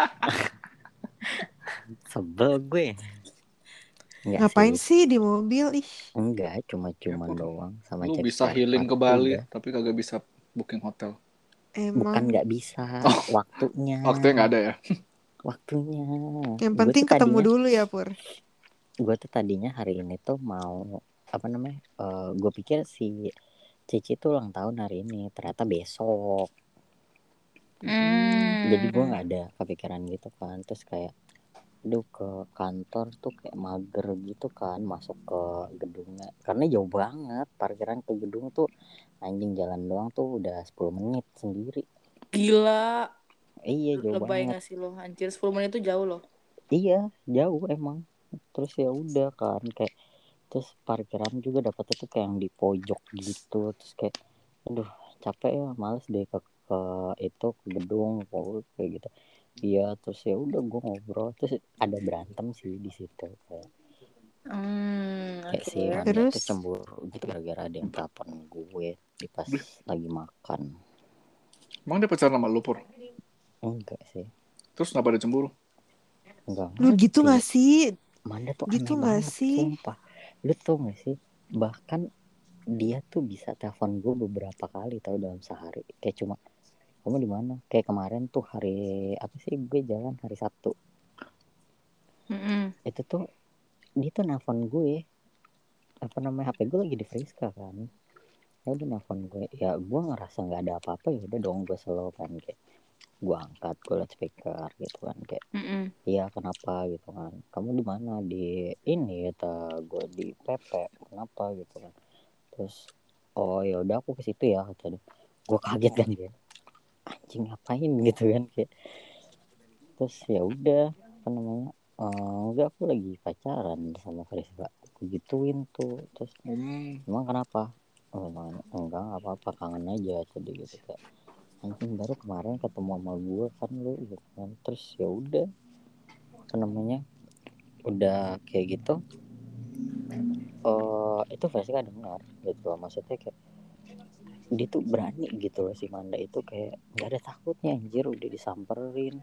Sebel gue. Enggak Ngapain sih. sih di mobil ih? Enggak, cuma-cuman Ya, doang sama Lu cek bisa spare healing part. ke Bali, Udah. tapi kagak bisa booking hotel. Emang Bukan nggak bisa, Oh. waktunya. Waktunya nggak ada ya? Waktunya. yang Gue penting tuh ketemu tadinya, dulu ya Pur. gue tuh tadinya hari ini tuh mau apa namanya? Uh, gue pikir si Cici tuh ulang tahun hari ini, ternyata besok. Hmm. Jadi gue nggak ada kepikiran gitu kan. Terus kayak, aduh ke kantor tuh kayak mager gitu kan masuk ke gedungnya. Karena jauh banget, parkiran ke gedung tuh anjing jalan doang tuh udah sepuluh menit sendiri. Gila. Iya jauh Lebay banget. gak sih lo? Anjir, sepuluh menit itu jauh loh. Iya jauh emang. Terus ya udah kan kayak terus parkiran juga dapetnya tuh kayak yang di pojok gitu. Terus kayak aduh capek ya males deh ke, ke itu ke gedung kayak gitu. Iya terus ya udah gue ngobrol terus ada berantem sih di situ kayak Hmm, kayak oke. si Manda Terus? tuh cemburu gitu gara-gara ada yang telepon gue di pas lagi makan. Emang dia pacaran sama lu, Pur? Enggak sih. Terus kenapa dia cemburu? Enggak Lu gitu ngerti. gak sih? Manda tuh Gitu aneh gak banget sih? sumpah. Lu tau gak sih bahkan dia tuh bisa telepon gue beberapa kali tau dalam sehari kayak cuma kamu di mana kayak kemarin tuh hari apa sih gue jalan hari Sabtu. Mm-mm. Itu tuh dia tuh nelfon gue apa namanya H P gue lagi di Friska kan ya udah nelfon gue ya gue ngerasa nggak ada apa-apa ya udah dong gue slow kan kayak gue angkat gue liat speaker gitu kan kayak Mm-mm. iya kenapa gitu kan kamu di mana di ini kata gue di P P kenapa gitu kan terus oh ya udah aku ke situ ya kata dia gue kaget kan dia anjing ngapain gitu kan kayak terus ya udah apa namanya Uh, enggak aku lagi pacaran sama Friska aku gituin tuh terus Hmm. emang kenapa oh emang enggak apa-apa kangen aja tadi gitu kayak anjing baru kemarin ketemu sama gue kan lu gitu kan terus ya udah apa namanya udah kayak gitu uh, itu Friska dengar gitu loh maksudnya kayak dia tuh berani gitu loh si Manda itu kayak nggak ada takutnya anjir udah disamperin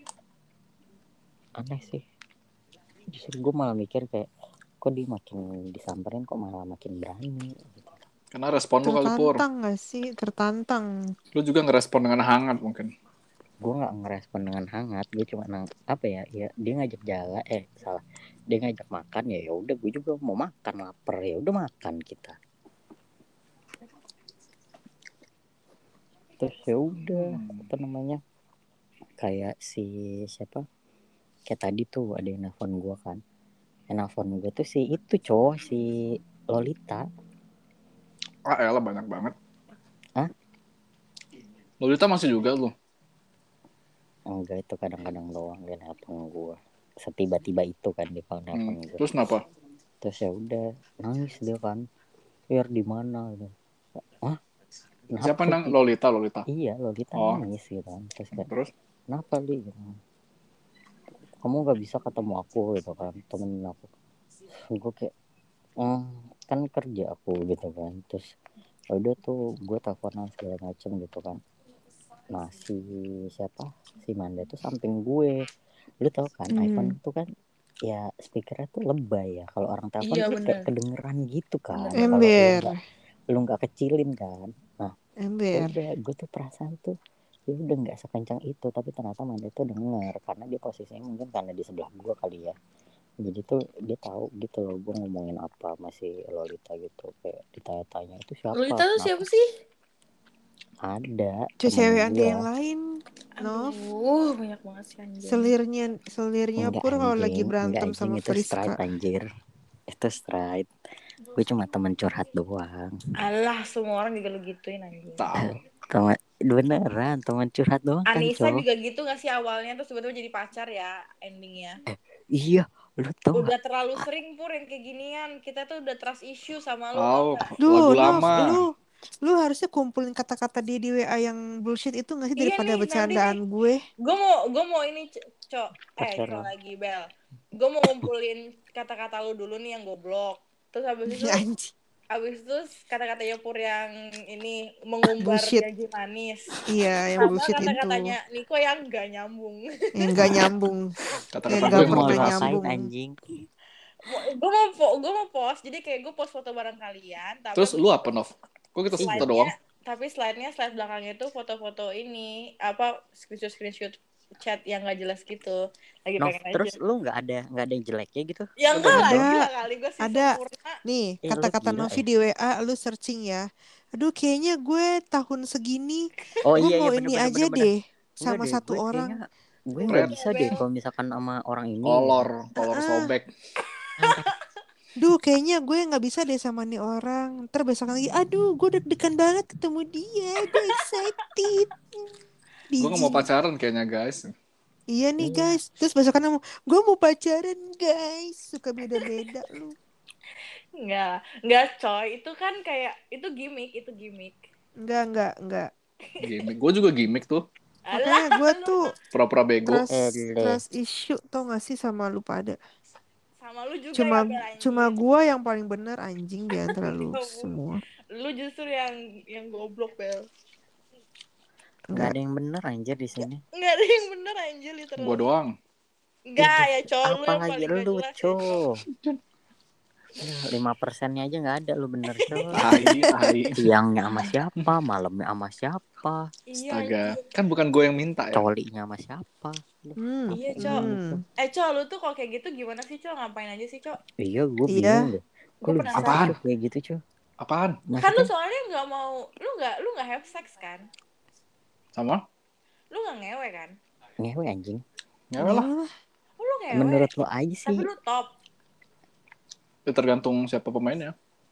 aneh sih justru gue malah mikir kayak kok dia makin disamperin kok malah makin berani gitu. Karena respon lu kali, Pur. Tertantang gak sih? Tertantang. Lu juga ngerespon dengan hangat mungkin. Gue nggak ngerespon dengan hangat gue cuma nang apa ya ya dia ngajak jalan eh salah dia ngajak makan ya ya udah gue juga mau makan lapar ya udah makan kita terus ya udah apa namanya kayak si siapa kayak tadi tuh ada yang nelfon gue kan yang nelfon gue tuh si itu cowok si Lolita. Ah elah banyak banget. Hah? Lolita masih juga lu? Enggak itu kadang-kadang doang dia nelfon gue setiba-tiba itu kan dia kalau nelfon Hmm. gue Terus kenapa? terus ya udah nangis dia kan biar di mana gitu. Hah? Kenapa Siapa nang Li? Lolita Lolita? Iya Lolita Oh. nangis gitu kan terus kayak Terus? kenapa Li gitu. Kamu nggak bisa ketemu aku gitu kan temenin aku gue kayak oh, kan kerja aku gitu kan terus Udah tuh gue teleponan segala macem gitu kan. Nah si siapa si Manda tuh samping gue. Lu tau kan Hmm. iPhone tuh kan ya speakernya tuh lebay ya. Kalau orang telepon Iya, tuh kayak bener. kedengeran gitu kan. Bener. Kalau lu Ember. nggak lu nggak kecilin kan. Nah Ember. udah gue tuh perasaan tuh ya udah nggak sekencang itu, tapi ternyata Manda tuh denger karena dia posisinya mungkin karena di sebelah gue kali ya. Jadi tuh dia tahu gitu loh gue ngomongin apa, masih Lolita gitu, kayak ditanya-tanya itu siapa, Lolita tuh kenapa, siapa sih? ada Cuy, temen cewek Anda gue. yang lain. Nov. Aduh, banyak banget sih anjing. Selirnya selirnya Enggak pur kalau lagi anjing, enggak berantem anjing, sama itu Friska. straight anjir, itu straight. Gue cuma temen curhat doang. Alah, semua orang juga lu gituin anjing. Tahu. Teman beneran teman curhat doang kan Anissa cowok. juga gitu gak sih awalnya terus tiba-tiba jadi pacar ya endingnya. Iya lu tau Udah gak? terlalu sering pur yang kayak ginian. Kita tuh udah trust issue sama lu. Tahu. Tau gak? Lagu Duh, Nov, lama. lu lu harusnya kumpulin kata-kata dia di W A yang bullshit itu nggak sih Iya daripada nih, nanti bercandaan nih. gue? Gue mau gue mau ini cok eh Pacar cok lo. lagi Bel. Gue mau ngumpulin kata-kata lu dulu nih yang goblok. Terus habis itu Anjing. abis itu kata-katanya Pur yang ini mengumbar Bullshit. janji manis. Iya, yang Sama bullshit itu. kata-katanya Niko yang gak nyambung. Yang nggak nyambung. Kata-kata Yang gue nggak yang Mau pernah lu motivasi. apain nyambung. anjing? Gue mau po- gue mau post jadi kayak gue post foto bareng kalian. Tapi Terus lu apa, Nov? Kok kita foto slide-nya, doang? tapi slide-nya slide belakangnya itu foto-foto ini apa screenshot screenshot chat yang gak jelas gitu. Lagi Nov, pengen terus aja. lu nggak ada nggak ada yang jeleknya gitu? Ya enggak lah, Ada. gila kali gue sih Ada. sempurna. Nih, Eh, lu kata-kata gila Novi ya. di W A lu searching ya. Aduh, kayaknya gue tahun segini Oh gue iya mau iya ini bener-bener aja bener. deh Enggak sama deh, satu gue orang. kayaknya gue Iya, nggak Red. bisa deh kalau misalkan sama orang ini. Kolor, kolor Ah. sobek. Duh, kayaknya gue nggak bisa deh sama nih orang. Ntar besok lagi, aduh, gue deg-degan banget ketemu dia. Gue excited. Gue gak mau Biji. pacaran kayaknya, guys. Iya nih Iya. guys. Terus besok kan gue mau pacaran guys. Suka beda-beda lu. Enggak, enggak coy. Itu kan kayak itu gimmick, itu gimmick. Enggak, enggak, enggak. Gimik. Gue juga gimmick tuh. Makanya gue tuh Pura-pura bego. trust, Ele. trust issue tau gak sih sama lu pada. Sama lu juga Cuma ya Bel, anjing. cuma gue yang paling bener anjing di antara lu Kamu. semua. Lu justru yang yang goblok Bel. Nggak Enggak. ada yang bener anjir di sini. Enggak ada yang bener anjir literally. Gue doang. Enggak ya coy, lu yang Apalagi paling gak lu, jelas ya, co. Coy. lima persennya aja nggak ada lu bener, co. Tai, tai. Siangnya sama siapa, malamnya sama siapa, Iya, Astaga. anjir. Kan bukan gue yang minta ya. colinya sama siapa. Hmm. Iya, Cok. Hmm. Eh, Cok, lu tuh kalau kayak gitu gimana sih, Cok? Ngapain aja sih, Cok? Iya, gue Iya. bingung deh. Gue Kok lu penasaran. bisa Apaan? hidup kayak gitu, co? Apaan? Kan lu Maksudnya, soalnya nggak mau, lu nggak, lu nggak have sex kan? Sama? Lu nggak ngewe kan? ngewe anjing. Ya lah. Yalah. Oh, lu ngewe. Menurut lo aja sih. Tapi lu top. Ya, tergantung siapa pemainnya.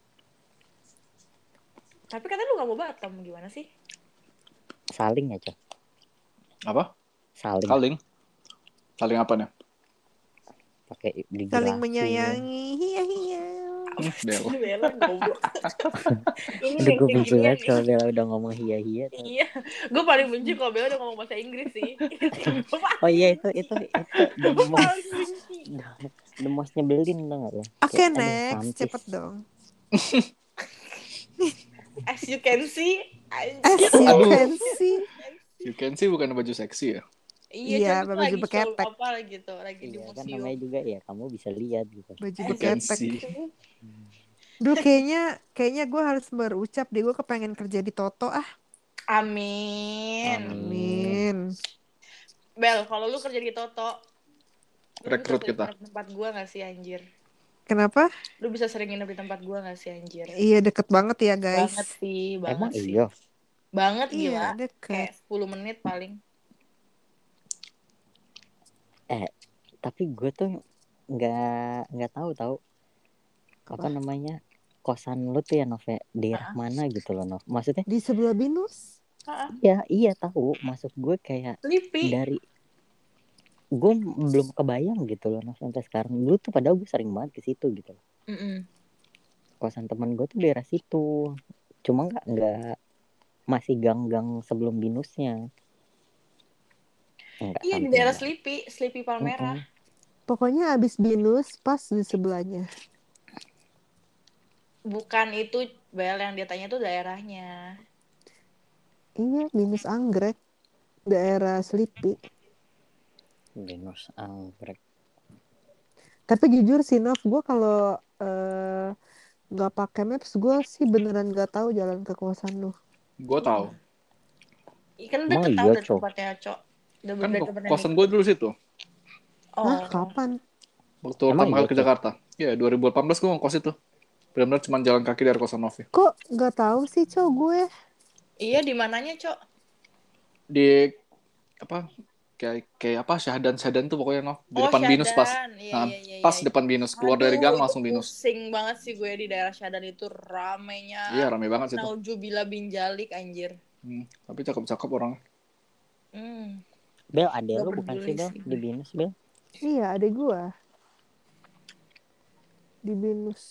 Tapi katanya lu nggak mau batam, gimana sih? Saling ya, co. Apa? Saling. Saling. Saling apa nih? Pakai digerakin. Saling menyayangi. Iya, iya. Hmm, Bel. Bella goblok. Ini Udah yang gue kayak benci ginian banget nih. kalau Bella udah ngomong hia-hia. Iya, gue paling benci kalau Bella udah ngomong bahasa Inggris sih. Gua Oh iya itu itu itu the paling most benci. the most nyebelin tau gak lo? Oke, Kayak, aduh, next. sampis. Cepet dong. As you can see, As anjir. you Aduh. can see. You can see bukan baju seksi ya? Iya, Iya, tapi tuh baju lagi show beketek. apa gitu, lagi di Iya kan museum. namanya juga ya kamu bisa lihat gitu. Baju Eh, You can beketek. see. Duh, kayaknya kayaknya gue harus berucap deh. Gue kepengen kerja di Toto ah. Amin. Amin. Bel, kalau lu kerja di Toto, lu Rekrut bisa kita. sering nginep di tempat gua gak sih anjir? Kenapa? Lu bisa sering nginep di tempat gua gak sih anjir? Iya, deket banget ya guys. Banget sih, banget Emang sih. iya. Banget Iya, gila. deket. Kayak sepuluh menit paling. Eh tapi gue tuh nggak nggak tahu tahu apa namanya kosan lu tuh ya Nov ya, daerah mana gitu loh Nov. Maksudnya Di sebelah Binus. iya iya tahu. Maksud gue kayak Sleepy. dari gue belum kebayang gitu loh Nov sampai sekarang. Dulu tuh padahal gue sering banget ke situ gitu loh. Mm-mm. Kosan teman gue tuh daerah situ. Cuma nggak nggak masih gang-gang sebelum binusnya. Enggak Iya di samping daerah gang. Sleepy, Sleepy Palmerah. Mm-mm. Pokoknya abis Binus pas di sebelahnya. Bukan itu Bel yang dia tanya tuh daerahnya. Iya, Binus Anggrek, daerah Selipi. Binus Anggrek. Tapi jujur sih, Nov, gue kalau eh, nggak pakai maps, gue sih beneran nggak tahu jalan ke kosan lu. Gue tahu. Ikan Emang deket tau iya, dari Cok? tempatnya Cok. Dari Kan dari ko- tempatnya kosan Niko. gue dulu situ. Hah, Oh. kapan? Waktu Emang pertama iya, kali ke Cok? Jakarta. Iya, dua ribu delapan belas gue ngekos itu. Benar-benar cuma jalan kaki dari kosan Novi. Kok nggak tahu sih, Cok, gue? Iya di mananya Cok? Di apa kayak kayak apa Syahdan Syahdan tuh pokoknya Nov. Di Oh depan Binus pas. Syadan. Iya Nah, iya iya. pas iya. depan Binus. Keluar dari Aduh, gang itu langsung Binus. pusing banget sih gue di daerah Syadan itu ramenya. Iya, rame banget situ. Naujubillah bin Jalik anjir. Hmm, tapi cakep-cakep orangnya. Hmm. Bel, ade Gak lu bukan peduli sih, Bel? sih Di gue. Binus, Bel? Iya, adek gue. Di Binus.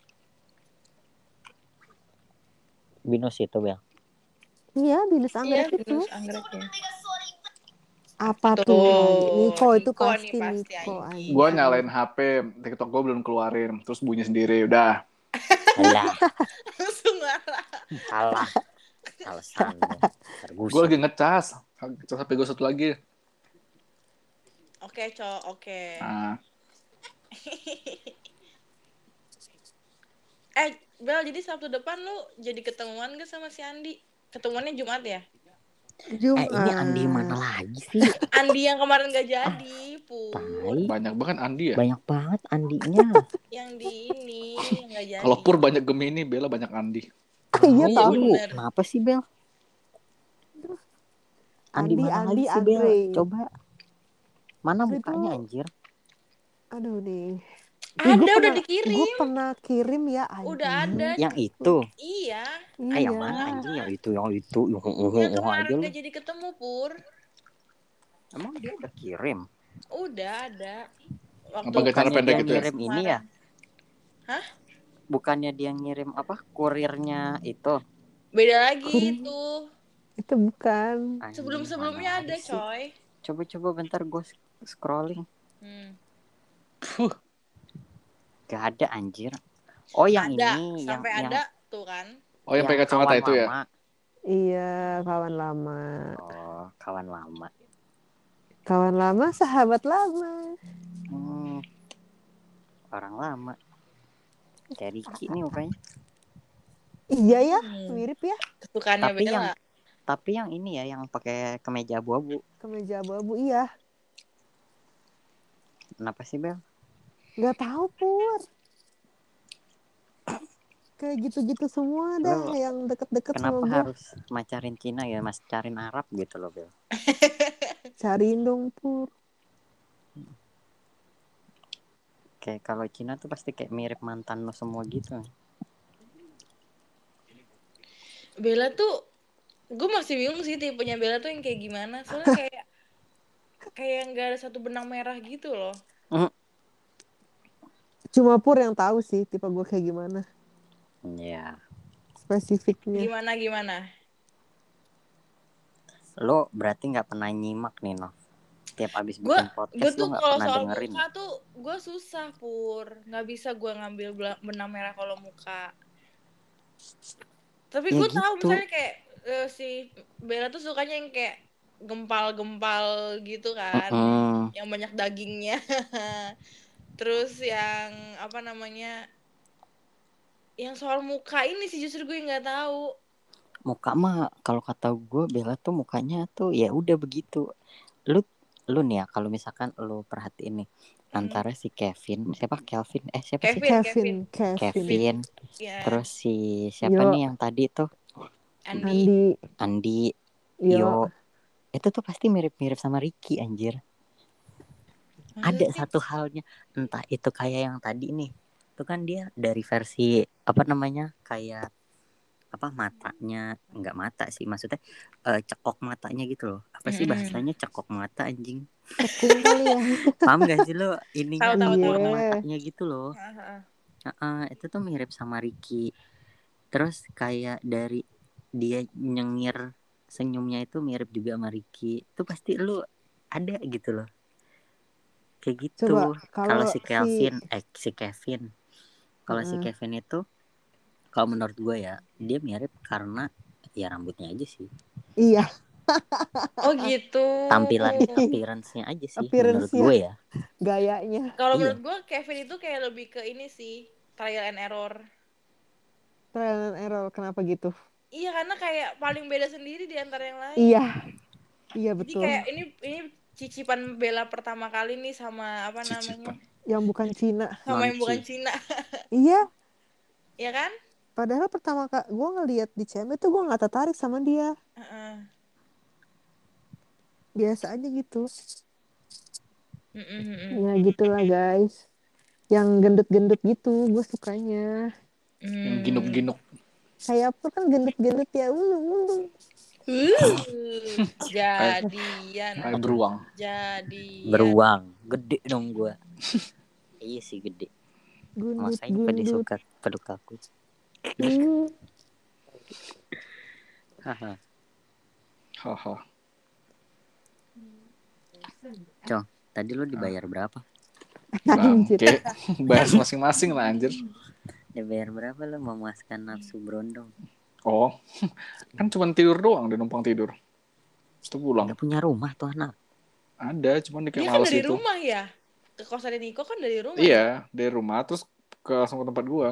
Binus itu, Bel. Iya, Binus Iya, Anggrek itu. Binus Anggrek ya. Apa tuh Tuh, lagi? Niko itu Niko nih pasti, pasti Niko. anjing. anjing. Gue nyalain H P, TikTok gue belum keluarin, terus bunyi sendiri, udah. Alah, Langsung ngalah. salah. Alasan. Gue Tergusur. lagi ngecas, ngecas H P gue satu lagi. Oke, Cok, oke. Nah, Eh, Bel, jadi Sabtu depan lu jadi ketemuan gak sama si Andi? Ketemuannya Jumat ya? Jumat. Eh, ini Andi mana lagi sih? Andi yang kemarin gak jadi, Pur. Tai. banyak banget Andi ya. Banyak banget Andinya. Yang di ini, yang gak jadi. Kalau Pur banyak Gemini, Bella banyak Andi. Iya, Oh, tahu. lu bener. kenapa sih, Bel? Andi, Andi, mana Andi, lagi sih, Bel? Andre. Coba. Mana Itu- mukanya, anjir? Aduh nih. Ada, Ih, gua udah pernah- dikirim. Gue pernah kirim ya. Anjing. Udah ada. Yang itu. Iya. Iya. Ah, yang mana anjing? Yang itu, yang itu. Yang uh, Yang uh, kemarin aja lu. gak jadi ketemu, Pur. Emang dia udah kirim? Udah ada. Waktu Apa gak cara Bukannya pendek dia gitu ya? ngirim ini ya? Hah? Bukannya dia ngirim apa? Kurirnya itu. Beda lagi Kurir. itu. Itu bukan. Anjing, Sebelum-sebelumnya mana ada, sih? coy. Coba-coba bentar gue scrolling. Hmm. Gak ada anjir. Oh yang ada, ini, sampai yang, ada tuh kan. Oh, yang pakai kacamata kawan itu ya? lama. Iya, kawan lama. Oh, kawan lama. Kawan lama, sahabat lama. Hmm. Orang lama. Kayak Ricky nih mukanya. Iya ya, Hmm. mirip ya. Kesukaannya Tapi Bella. yang tapi yang ini ya, yang pakai kemeja abu-abu. Kemeja abu-abu, iya. Kenapa sih, Bel? Gak tahu Pur. Kayak gitu-gitu semua dah Lo yang deket-deket sama Kenapa gue. harus macarin Cina ya, mas carin Arab gitu loh, Bel? Cariin dong Pur. Kayak kalau Cina tuh pasti kayak mirip mantan lo semua gitu. Bella tuh, gue masih bingung sih tipenya Bella tuh yang kayak gimana. Soalnya kayak kayak nggak ada satu benang merah gitu loh. Cuma Pur yang tahu sih tipe gue kayak gimana. Iya. Spesifiknya. Gimana gimana? Lo berarti nggak pernah nyimak nih, Nov. Tiap abis Gue bikin gue podcast lo tuh nggak kalau pernah soal dengerin. muka tuh gue susah Pur. Nggak bisa gue ngambil bela- benang merah kalau muka. Tapi Ya gue tahu gitu. misalnya kayak eh, si Bella tuh sukanya yang kayak gempal-gempal gitu kan. Mm-mm. Yang banyak dagingnya. Terus yang apa namanya? Yang soal muka ini sih justru gue nggak tahu. Muka mah kalau kata gue Bella tuh mukanya tuh ya udah begitu. Lu lu nih ya kalau misalkan lu perhatiin nih Hmm. antara si Kevin, siapa Kelvin? Eh siapa sih? Kevin, Kevin. Kevin, Kevin. Kevin. Ya, Terus si siapa Yo. nih yang tadi tuh? Andi. Andi. Andi, Yo. Yo. Itu tuh pasti mirip-mirip sama Ricky anjir. Ada Maksudnya? satu halnya, entah itu kayak yang tadi nih. Itu kan dia dari versi apa namanya? Kayak apa matanya, enggak mata sih maksudnya eh, cekok matanya gitu loh. Apa sih Mm-mm. bahasanya cekok mata anjing? Tekung kali ya. Paham gak sih lo ininya Tahu, tahu, cekok tahu. matanya gitu loh. Heeh. Heeh, itu tuh mirip sama Ricky. Terus kayak dari dia nyengir senyumnya itu mirip juga sama Ricky. Itu pasti lu ada gitu loh. Kayak gitu. Coba Kalau kalau si si Kelvin, eh si Kevin. Kalau si Heeh. Kevin itu Kalau menurut gue ya, dia mirip karena ya rambutnya aja sih. Iya, Oh gitu. Tampilan appearance-nya aja sih menurut Appearance-nya. gue ya. gayanya. Kalau Iya. menurut gue Kevin itu kayak lebih ke ini sih, trial and error. Trial and error, kenapa gitu? Iya, karena kayak paling beda sendiri di antara yang lain. Iya, iya Jadi betul. kayak ini ini cicipan Bella pertama kali nih sama apa namanya? Cicipan. Yang bukan Cina. Sama yang Non-Ci. bukan Cina. Iya, Iya kan? padahal pertama kali gue ngeliat di C M tuh gue nggak tertarik sama dia. Heeh. Biasa aja gitu. Mm-mm, mm-mm. Ya gitulah guys. Yang gendut-gendut gitu, gue sukanya. Yang Hmm. ginuk-ginuk. Kayak apa kan gendut-gendut ya. Ulu-ulu. Uh, jadian. Kayak beruang. Jadian. Beruang, gede dong gue. Iya sih gede. Makanya pada Gundut-gundut. suka peluk aku. Uh, Haha. Haha. Cong, tadi lu dibayar berapa? Anjir. Bangke. Bahas masing-masing lah anjir. Dibayar berapa lu memuaskan nafsu berondong? Oh, kan cuma tidur doang, dia numpang tidur. Terus pulang. Udah punya rumah tuh anak. Ada, cuman dia kayak Dia kan males dari gitu. rumah ya? Ke kosan Niko kan dari rumah. Iya, dari rumah terus ke langsung ke tempat gua.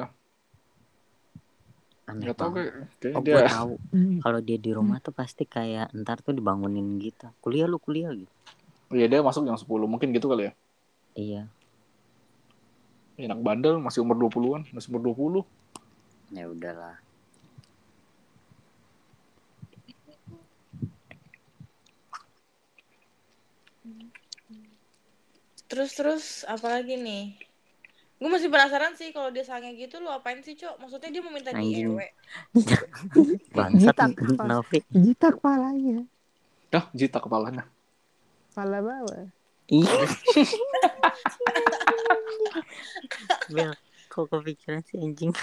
Aneh Gak tau banget. kayak, kayak Oh, dia. gue tahu. Kalau dia di rumah tuh pasti kayak ntar tuh dibangunin gitu. Kuliah lu kuliah gitu. Iya, dia masuk jam sepuluh, mungkin gitu kali ya. Iya. Enak bandel, masih umur dua puluhan, masih umur dua puluh. Ya udahlah. Terus terus apa lagi nih? Gue masih penasaran sih kalau dia sange gitu lu apain sih, Cok? Maksudnya dia mau minta Anjing. diewe. Bangsat Jitak apa? Novi. Jitak kepalanya. Dah, jita kepalanya. Kepala bawah. Ih. Bel, kok kepikiran sih anjing?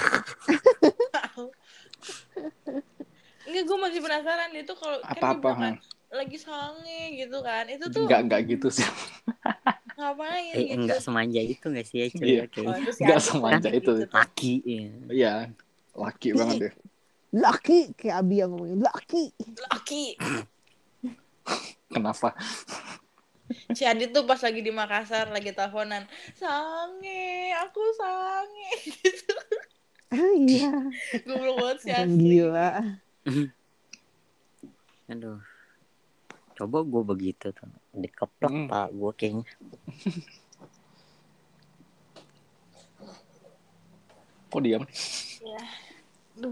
Enggak, gue masih penasaran dia tuh kalau kan dia Apa-apa, bilang kan lagi sange gitu kan. Itu tuh Enggak, enggak gitu sih. ngapain Eh, gitu? enggak semanja itu enggak sih ya cuy? Iya. Oke. Oh, itu si Enggak Adit semanja lagi itu. gitu tuh. Laki ya. Iya, laki banget deh. Laki, kayak Abi yang ngomongin laki. Laki. Kenapa? Si Adit tuh pas lagi di Makassar lagi teleponan, sange, aku sange gitu. Ah iya. Goblok banget si Orang asli. gila. Aduh. Coba gue begitu tuh. Dikeplak Hmm. pak gue kayaknya. Kok diam? Ya. Duh.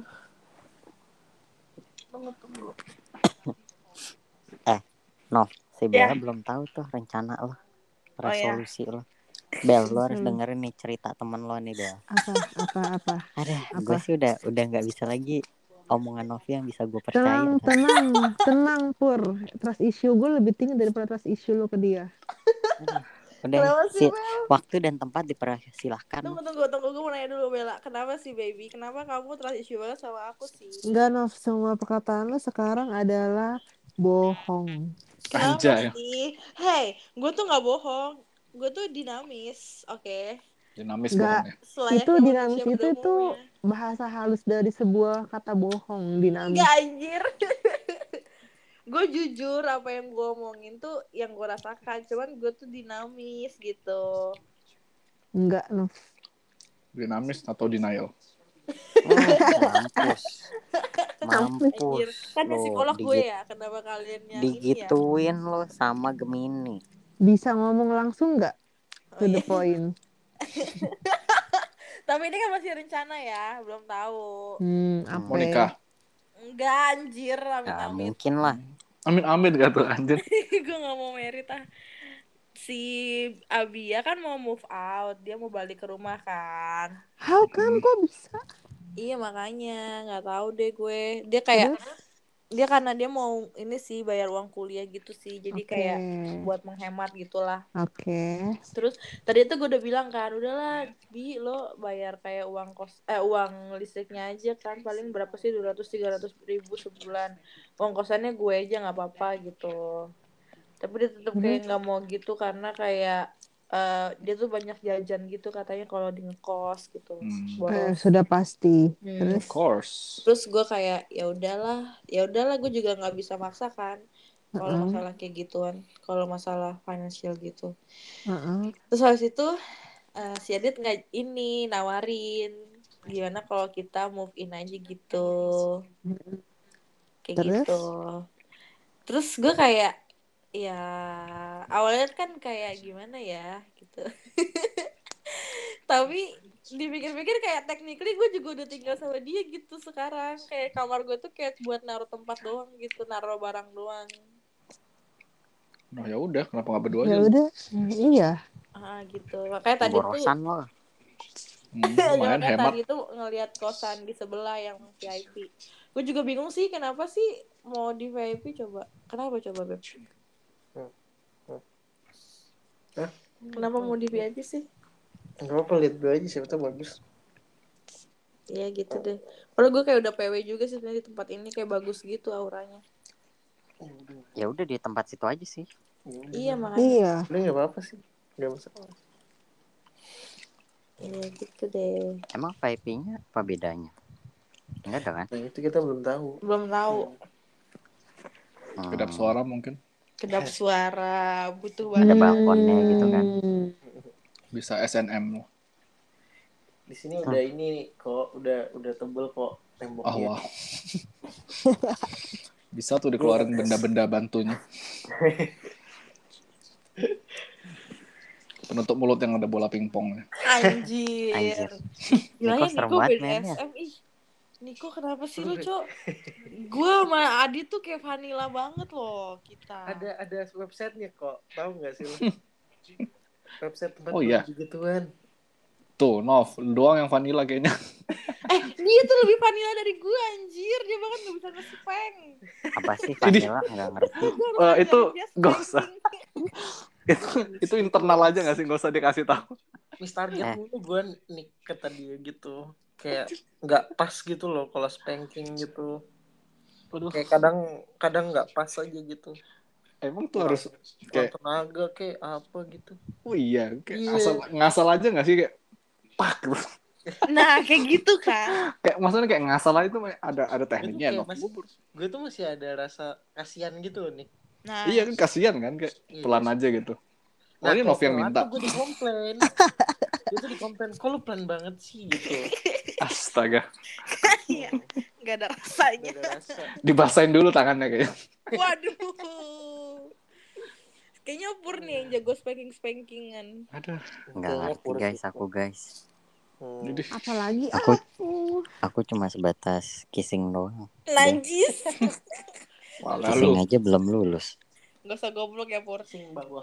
Tunggu tunggu. Eh, Nov, si Bella Ya. belum tahu tuh rencana lo, Oh, ya. resolusi lo. Bel, lo harus Hmm. dengerin nih cerita temen lo nih Bel. Apa, apa, apa. Ada, Apa? gue sih udah udah nggak bisa lagi omongan Novi yang bisa gue percaya. Tenang, tenang, tenang Pur. Trust issue gue lebih tinggi daripada trust issue lo ke dia. Aduh, udah Kenapa sih, si, waktu dan tempat dipersilahkan. Tunggu tunggu tunggu gue mau nanya dulu Bella. Kenapa sih baby? Kenapa kamu trust issue banget sama aku sih? Enggak, Nov. Semua perkataan lo sekarang adalah bohong. Kenapa Anjay. sih? Hey, gue tuh nggak bohong. Gue tuh dinamis, oke. Dinamis Enggak. banget ya. Selayaknya Itu manusia dinamis pada itu itu umumnya. bahasa halus dari sebuah kata bohong. Dinamis. Enggak anjir. Gue jujur apa yang gue omongin tuh yang gue rasakan. Cuman gue tuh dinamis gitu. Enggak, Nov. Dinamis atau denial? Oh, mampus. Anjir. Mampus. Kan ada lo psikolog gue digit- ya. Kenapa kalian yang ini ya? digituin lo sama Gemini. Bisa ngomong langsung nggak? Oh, To the iya. point. Tapi ini kan masih rencana ya. Belum tahu. Hmm, apa? Mau nikah? Enggak anjir. Amit Gak amit. mungkin lah. Amin-amin gak tuh anjir. Gue gak mau merit ah. Si Abia kan mau move out. Dia mau balik ke rumah kan. How come kok bisa? Iya makanya nggak tahu deh gue. Dia kayak Terus? dia karena dia mau ini sih bayar uang kuliah gitu sih. Jadi Oke. kayak buat menghemat gitulah. Oke. Terus tadi itu gue udah bilang kan, udahlah Bi lo bayar kayak uang kos eh uang listriknya aja kan paling berapa sih dua ratus tiga ratus ribu sebulan. Uang kosannya gue aja nggak apa-apa gitu. Tapi dia tetap kayak nggak mau gitu karena kayak eh, dia tuh banyak jajan gitu katanya kalau di ngekos gitu. Hmm. Eh, Boros. sudah pasti. Hmm. Terus Of course. Terus gue kayak ya udahlah, ya udahlah gue juga nggak bisa maksa kan. Kalau Heeh. masalah kayak gituan, kalau masalah financial gitu. Heeh. Terus habis itu eh, si Adit nggak ini nawarin gimana kalau kita move in aja gitu, kayak Terus gitu. Terus gue kayak ya awalnya kan kayak gimana ya gitu. Tapi dipikir-pikir kayak technically gue juga udah tinggal sama dia gitu sekarang. Kayak kamar gue tuh kayak buat naruh tempat doang gitu, naruh barang doang. Nah ya udah, kenapa nggak berdua aja? ya lu? udah, iya. Ah gitu. Makanya tadi tuh Borosan lo. Hmm, ya, lumayan makanya hemat. tadi tuh ngelihat kosan di sebelah yang V I P. Gue juga bingung sih kenapa sih mau di V I P coba. Kenapa coba Beb? Hah? Kenapa mau di V I P sih? Gak apa-apa, lihat dulu aja, siapa tahu bagus. Iya gitu deh. Padahal gue kayak udah P W juga sih sebenarnya di tempat ini, kayak bagus gitu auranya. Ya udah di tempat situ aja sih. Iya makanya. Iya. Udah gak apa-apa sih, gak masalah. Iya gitu deh. Emang V I P-nya apa bedanya? Enggak ada kan? Nah itu kita belum tahu. Belum tahu. Hmm, Kedap suara mungkin. Kedap suara, butuh Ada banget. balkonnya gitu kan. Hmm. Bisa S N M. Di sini udah ini nih, kok udah udah tebel kok Oh temboknya. wow. Bisa tuh dikeluarin benda-benda bantunya. Penutup mulut yang ada bola pingpongnya. Anjir. Anjir. Gilanya Niko serem Niko banget B D mainnya. S M ih. Niko kenapa sih lu, Cok? Gue sama Adi tuh kayak vanilla banget loh kita. Ada ada websitenya kok, tahu nggak sih lo? Website tempat Oh, iya. begituan. Tuh, Nov, lu doang yang vanilla kayaknya. Eh, dia tuh lebih vanilla dari gue anjir. Dia bahkan gak bisa nge-spang. Apa sih vanilla? Nggak ngerti. Uh, itu gak usah. itu itu internal aja gak sih? Gak usah dikasih tahu. Miss target Eh. mulu gue nih kata dia gitu. Kayak nggak pas gitu loh kalau spanking gitu. Aduh, Kayak kadang kadang nggak pas aja gitu. emang tuh harus Kurang kayak, tenaga kayak apa gitu. oh iya, kayak Iya. asal ngasal aja gak sih? Kayak, pak gitu. Nah, kayak gitu kan. Kayak maksudnya kayak ngasal aja tuh ada ada Gue tuh tekniknya, kayak Nov. masih, gue tuh masih ada rasa kasihan gitu loh nih. Nah, Iya kan, kasihan kan, kayak Iya. pelan aja gitu. Nah, Oh ini Nov yang minta. Gue dikomplain. Gue tuh dikomplain, kok lu pelan banget sih gitu. Astaga. iya. Gak ada rasanya. Gak ada rasa. Dibasahin dulu tangannya kayaknya. Waduh. Kayaknya Pur nih yang jago spanking-spankingan. Aduh. Nggak ngerti guys aku guys. Hmm. Jadi Apalagi Aku aku. aku cuma sebatas kissing doang. Najis. malah Kissing lu. aja belum lulus. Gak usah goblok ya Pur. Sing bawah.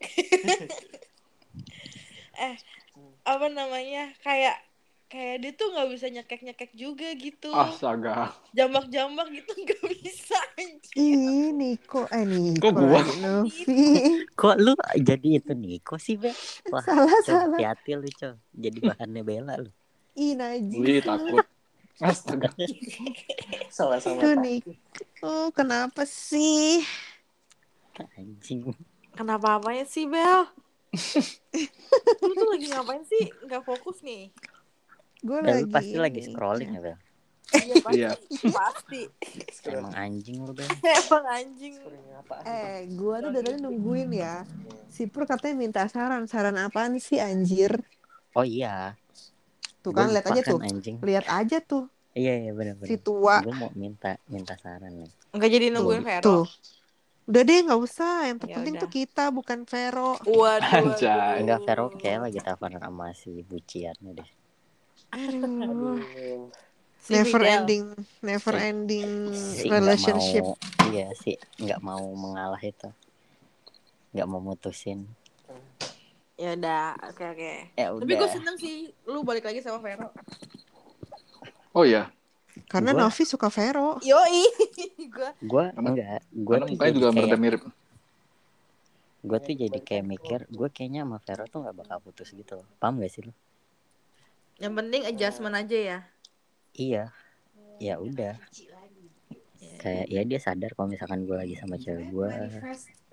Eh, apa namanya? Kayak kayak dia tuh nggak bisa nyekek-nyekek juga gitu. Astaga. Jambak-jambak gitu nggak bisa anjir. Ih, Niko, eh Niko Kok gua? lagi, Novi. Kok lu jadi itu Niko sih, Be? Wah, Salah, Cok, salah. hati-hati lu, Cok. Jadi bahannya bela lu. Ih, najis. Wih, takut. Astaga. Sama-sama. Tuh Niko, oh, kenapa sih? Anjing. Kenapa apanya sih Bel? Lu tuh lagi ngapain sih? Nggak fokus nih. Gue Bel, lu lagi pasti lagi ini. scrolling ya, Bel? Iya pasti. Iya. Pasti. Emang anjing lu, Bel. Emang anjing. Eh, gue tuh dari tadi nungguin ya. Si Pur katanya minta saran. Saran apaan sih, anjir? Oh iya. Tuh kan, Gua lihat lupa aja kan, tuh. anjing. Lihat aja tuh. Iya, iya benar-benar. Si tua. Gue mau minta minta saran nih. Nggak jadi nungguin Vero. Tuh. Udah deh, nggak usah. Yang terpenting udah. tuh kita, bukan Vero. Waduh. Anjay. waduh. Enggak, Vero kayak lagi teleponan sama si buciannya deh. Aduh. Si Never Miguel. ending, never Si- ending Si nggak relationship. mau, iya sih nggak mau mengalah itu, nggak mau mutusin. Ya udah, oke oke. Ya Tapi gue udah. seneng sih lu balik lagi sama Vero. Oh iya. Karena Gua- Novi suka Vero. Yoi. gue Gue Karena- enggak, gue Karena tuh mukanya jadi juga kayak, mirip-mirip. gue tuh jadi kayak mikir, gue kayaknya sama Vero tuh nggak bakal putus gitu loh. Paham gak sih lu? yang penting adjustment aja ya. Iya, ya udah. Kayak ya dia sadar kalau misalkan gue lagi sama cewek gue,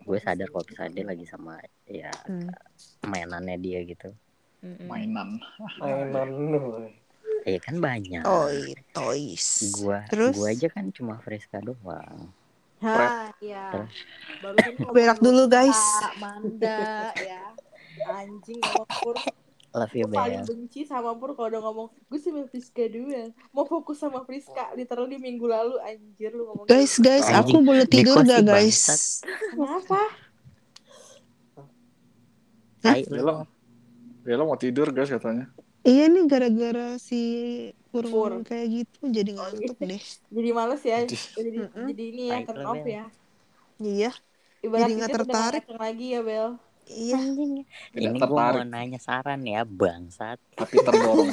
gue sadar kalau misalnya dia lagi sama ya Hmm. mainannya dia gitu. Mm-mm. Mainan. Mainan lu. Iya kan banyak. Toy, toys. Gua Terus gua aja kan cuma Friska doang. Hah, ya. Terus Barusan ngomong berak dulu guys. Kak Manda ya. Anjing sama Pur. love you Gue paling Bel. benci sama Pur kalau udah ngomong gue sama Friska doang. Mau fokus sama Friska literally minggu lalu anjir lu ngomong Guys, gitu. guys, Anjing, aku boleh tidur Niko gak sih guys? bangsat. Kenapa? Tai lu. Bella, Bella mau tidur guys katanya. Iya nih gara-gara si Pur Pur. ngomong kayak gitu jadi ngantuk deh. Jadi males ya. Jadi- Jadi Mm-mm. jadi ini ya Tai turn lu, off Bel. ya. Iya, Ibarat Jadi tidur nggak udah nggak tertarik. ngaceng lagi ya Bel. iya. Anjing. Tidak Ini gua mau tertarik. nanya saran ya bangsat. Tapi terdorong.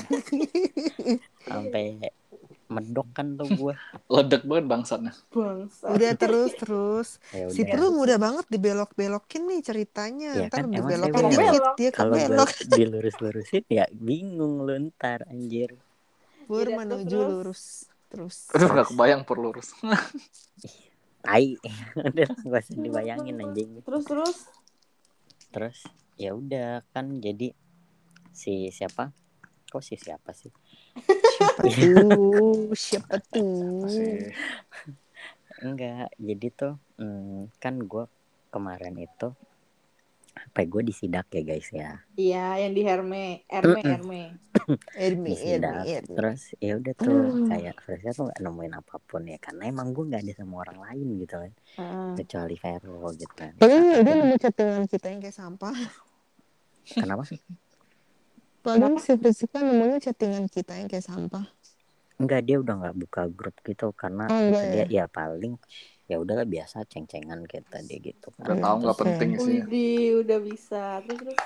Sampai medok kan tuh gua. Ledek banget bangsatnya. Bangsa. Udah terus terus. Ya Si udah. Pur mudah banget dibelok-belokin nih ceritanya. Ya Ntar kan, emang saya dibelokin bilang. dikit Belok. dia Kalau gua kebelok. dilurus-lurusin ya bingung lu ntar anjir. Pur Iya, menuju terus. lurus. Terus. Aduh gak kebayang perlurus. Tai. Udah gak usah dibayangin anjing. Terus terus. Terus ya udah kan jadi si siapa? Kok si siapa sih? Siapa tuh? Siapa tuh? Masih Enggak, jadi tuh hmm, kan gue kemarin itu apa gue disidak ya guys ya. Iya, yang di Herme, Herme, Mm-mm. Herme. Ermi, Disidak. Ermi, Ermi. Terus ya udah tuh kayak Fresca tuh nggak nemuin apapun ya karena emang gue nggak ada sama orang lain gitu kan Heeh. kecuali Vero gitu kan. Paling Tapi dia kan- nemu chattingan kita yang kayak sampah. kenapa sih? Paling si Friska nemunya chattingan kita yang kayak sampah. Enggak, dia udah nggak buka grup gitu karena Oh, enggak dia ya paling ya udahlah biasa ceng-cengan kita dia gitu udah kan. tahu nggak Oke. penting sih. Widih, udah bisa. Terus terus.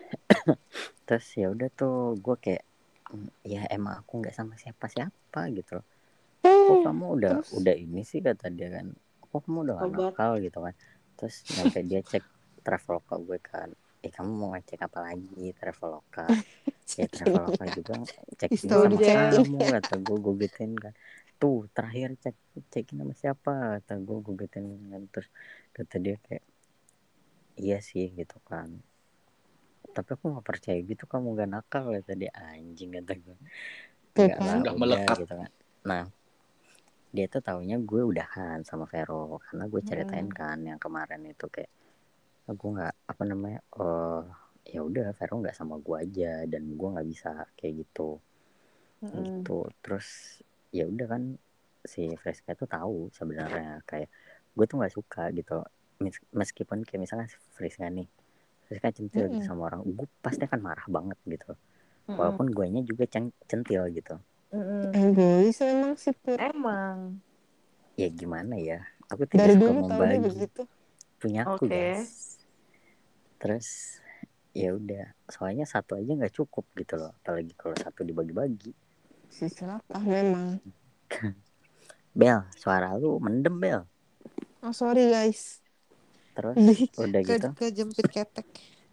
Terus ya udah tuh gue kayak "Hmm, ya emang aku nggak sama siapa-siapa gitu loh. Kok kamu udah Terus? udah ini sih kata dia kan. Kok kamu udah gak Obat. nakal gitu kan. Terus sampai dia cek Traveloka gue kan. Eh kamu mau ngecek apa lagi Traveloka? Ya Traveloka juga cek ini History sama check. kamu kata gue gue gituin kan. Tuh terakhir cek cekin sama siapa kata gue gue gituin kan. Terus kata dia kayak iya sih gitu kan. Tapi aku gak percaya gitu kamu gak nakal kata dia anjing kata gue. Tuh Enggak kan. lah Udah udah melekat. gitu kan. Nah dia tuh taunya gue udahan sama Vero karena gue ceritain kan yang kemarin itu kayak aku nggak apa namanya oh ya udah Vero nggak sama gue aja dan gue nggak bisa kayak gitu gitu terus ya udah kan si Fresca tuh tahu sebenarnya kayak gue tuh nggak suka gitu Mes- meskipun kayak misalnya Fresca nih Fresca centil gitu sama orang gue pasti akan marah banget gitu walaupun guenya juga cen- centil gitu. Egois emang sih Pur. Emang. Ya gimana ya aku tidak Dari suka dulu tau dia membagi begitu. punya aku Oke. guys. Terus ya udah soalnya satu aja nggak cukup gitu loh apalagi kalau satu dibagi-bagi. Si celaka memang. Bel suara lu mendem Bel. Oh sorry guys. Terus Di- udah ke, gitu kejepit ketek.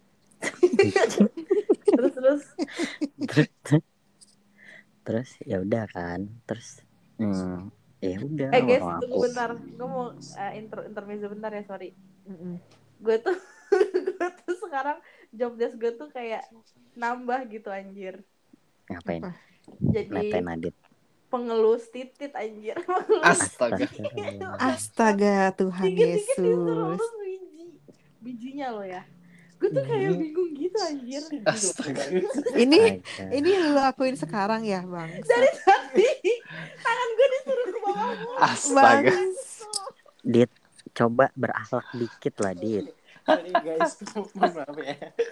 Terus terus. terus terus ya udah kan terus hmm, ya udah Eh guys, orang tunggu aku bentar. Gue mau uh, intro intermezzo bentar ya, sorry. Mm-mm. Gue tuh gue tuh sekarang job desk gue tuh kayak nambah gitu anjir. ngapain Apa? Jadi nepen Adit. pengelus titit anjir. Pengelus Astaga. Astagfirullah. Astaga Tuhan dikit-dikit disuruh Yesus. urus biji. Bijinya lo ya. Gue tuh kayak bingung gitu anjir. Astaga. Ini Astaga. ini yang lu lakuin sekarang ya bang. Dari tadi tangan gue disuruh ke bawah mulu. Astaga. Dit coba berakhlak dikit lah Dit. Sorry guys, maaf ya.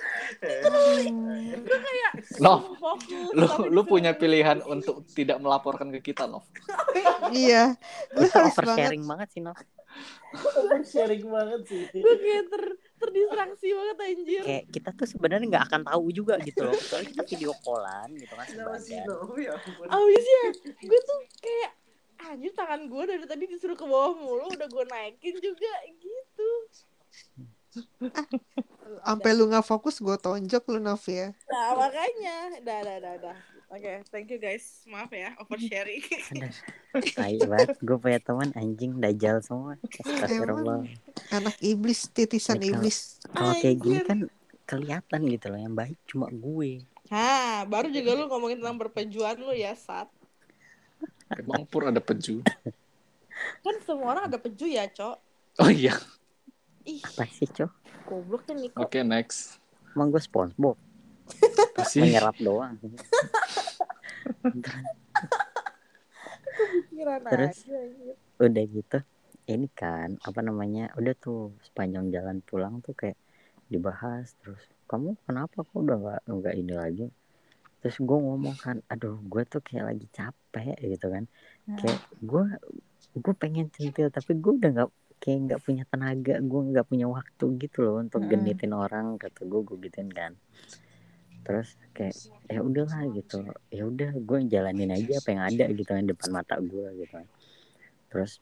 Gue kayak Nov, fokus. lu tapi lu disuruh punya urus. pilihan untuk tidak melaporkan ke kita, Nov. Iya. Lu Kita harus banget. oversharing banget sih Nov. Sharing banget sih. Gue kayak ter terdistraksi banget anjir. Kayak kita tuh sebenarnya nggak akan tahu juga gitu loh kecuali kita video callan gitu kan Kenapa sih sebagian. Nov? Ya ampun. Abisnya gue tuh kayak anjir tangan gue dari tadi disuruh ke bawah mulu, udah gue naikin juga gitu. Sampai lu nggak fokus gue tonjok lu Nov ya. Nah makanya, dah dah dah dah. Oke, thank you guys. Maaf ya, oversharing. Aduh, tai banget. Gue punya teman anjing dajal semua. Astagfirullah. Emang anak iblis, titisan Ya, kalau iblis. kalau kayak gini Anjir. kan kelihatan gitu loh, yang baik cuma gue. Hah, baru juga lu ngomongin tentang perpejuan lu ya, Sat. Emang Pur ada peju? Kan semua orang ada peju ya, Cok. Oh iya. Ih, Apa sih, Cok? goblok kan Niko. Oke, next. Emang gue SpongeBob Apa sih? menyerap doang. Pikiran Terus aja anjir. udah gitu, ini kan apa namanya, udah tuh sepanjang jalan pulang tuh kayak dibahas terus, kamu kenapa kok udah nggak nggak ini lagi. Terus gue ngomong kan, aduh gue tuh kayak lagi capek gitu kan, kayak gue gue pengen centil tapi gue udah nggak, kayak nggak punya tenaga, gue nggak punya waktu gitu loh untuk genitin orang, kata gue gue gituin kan. Terus kayak ya udahlah gitu, ya udah gue jalanin aja apa yang ada gitu kan depan mata gue gitu kan. Terus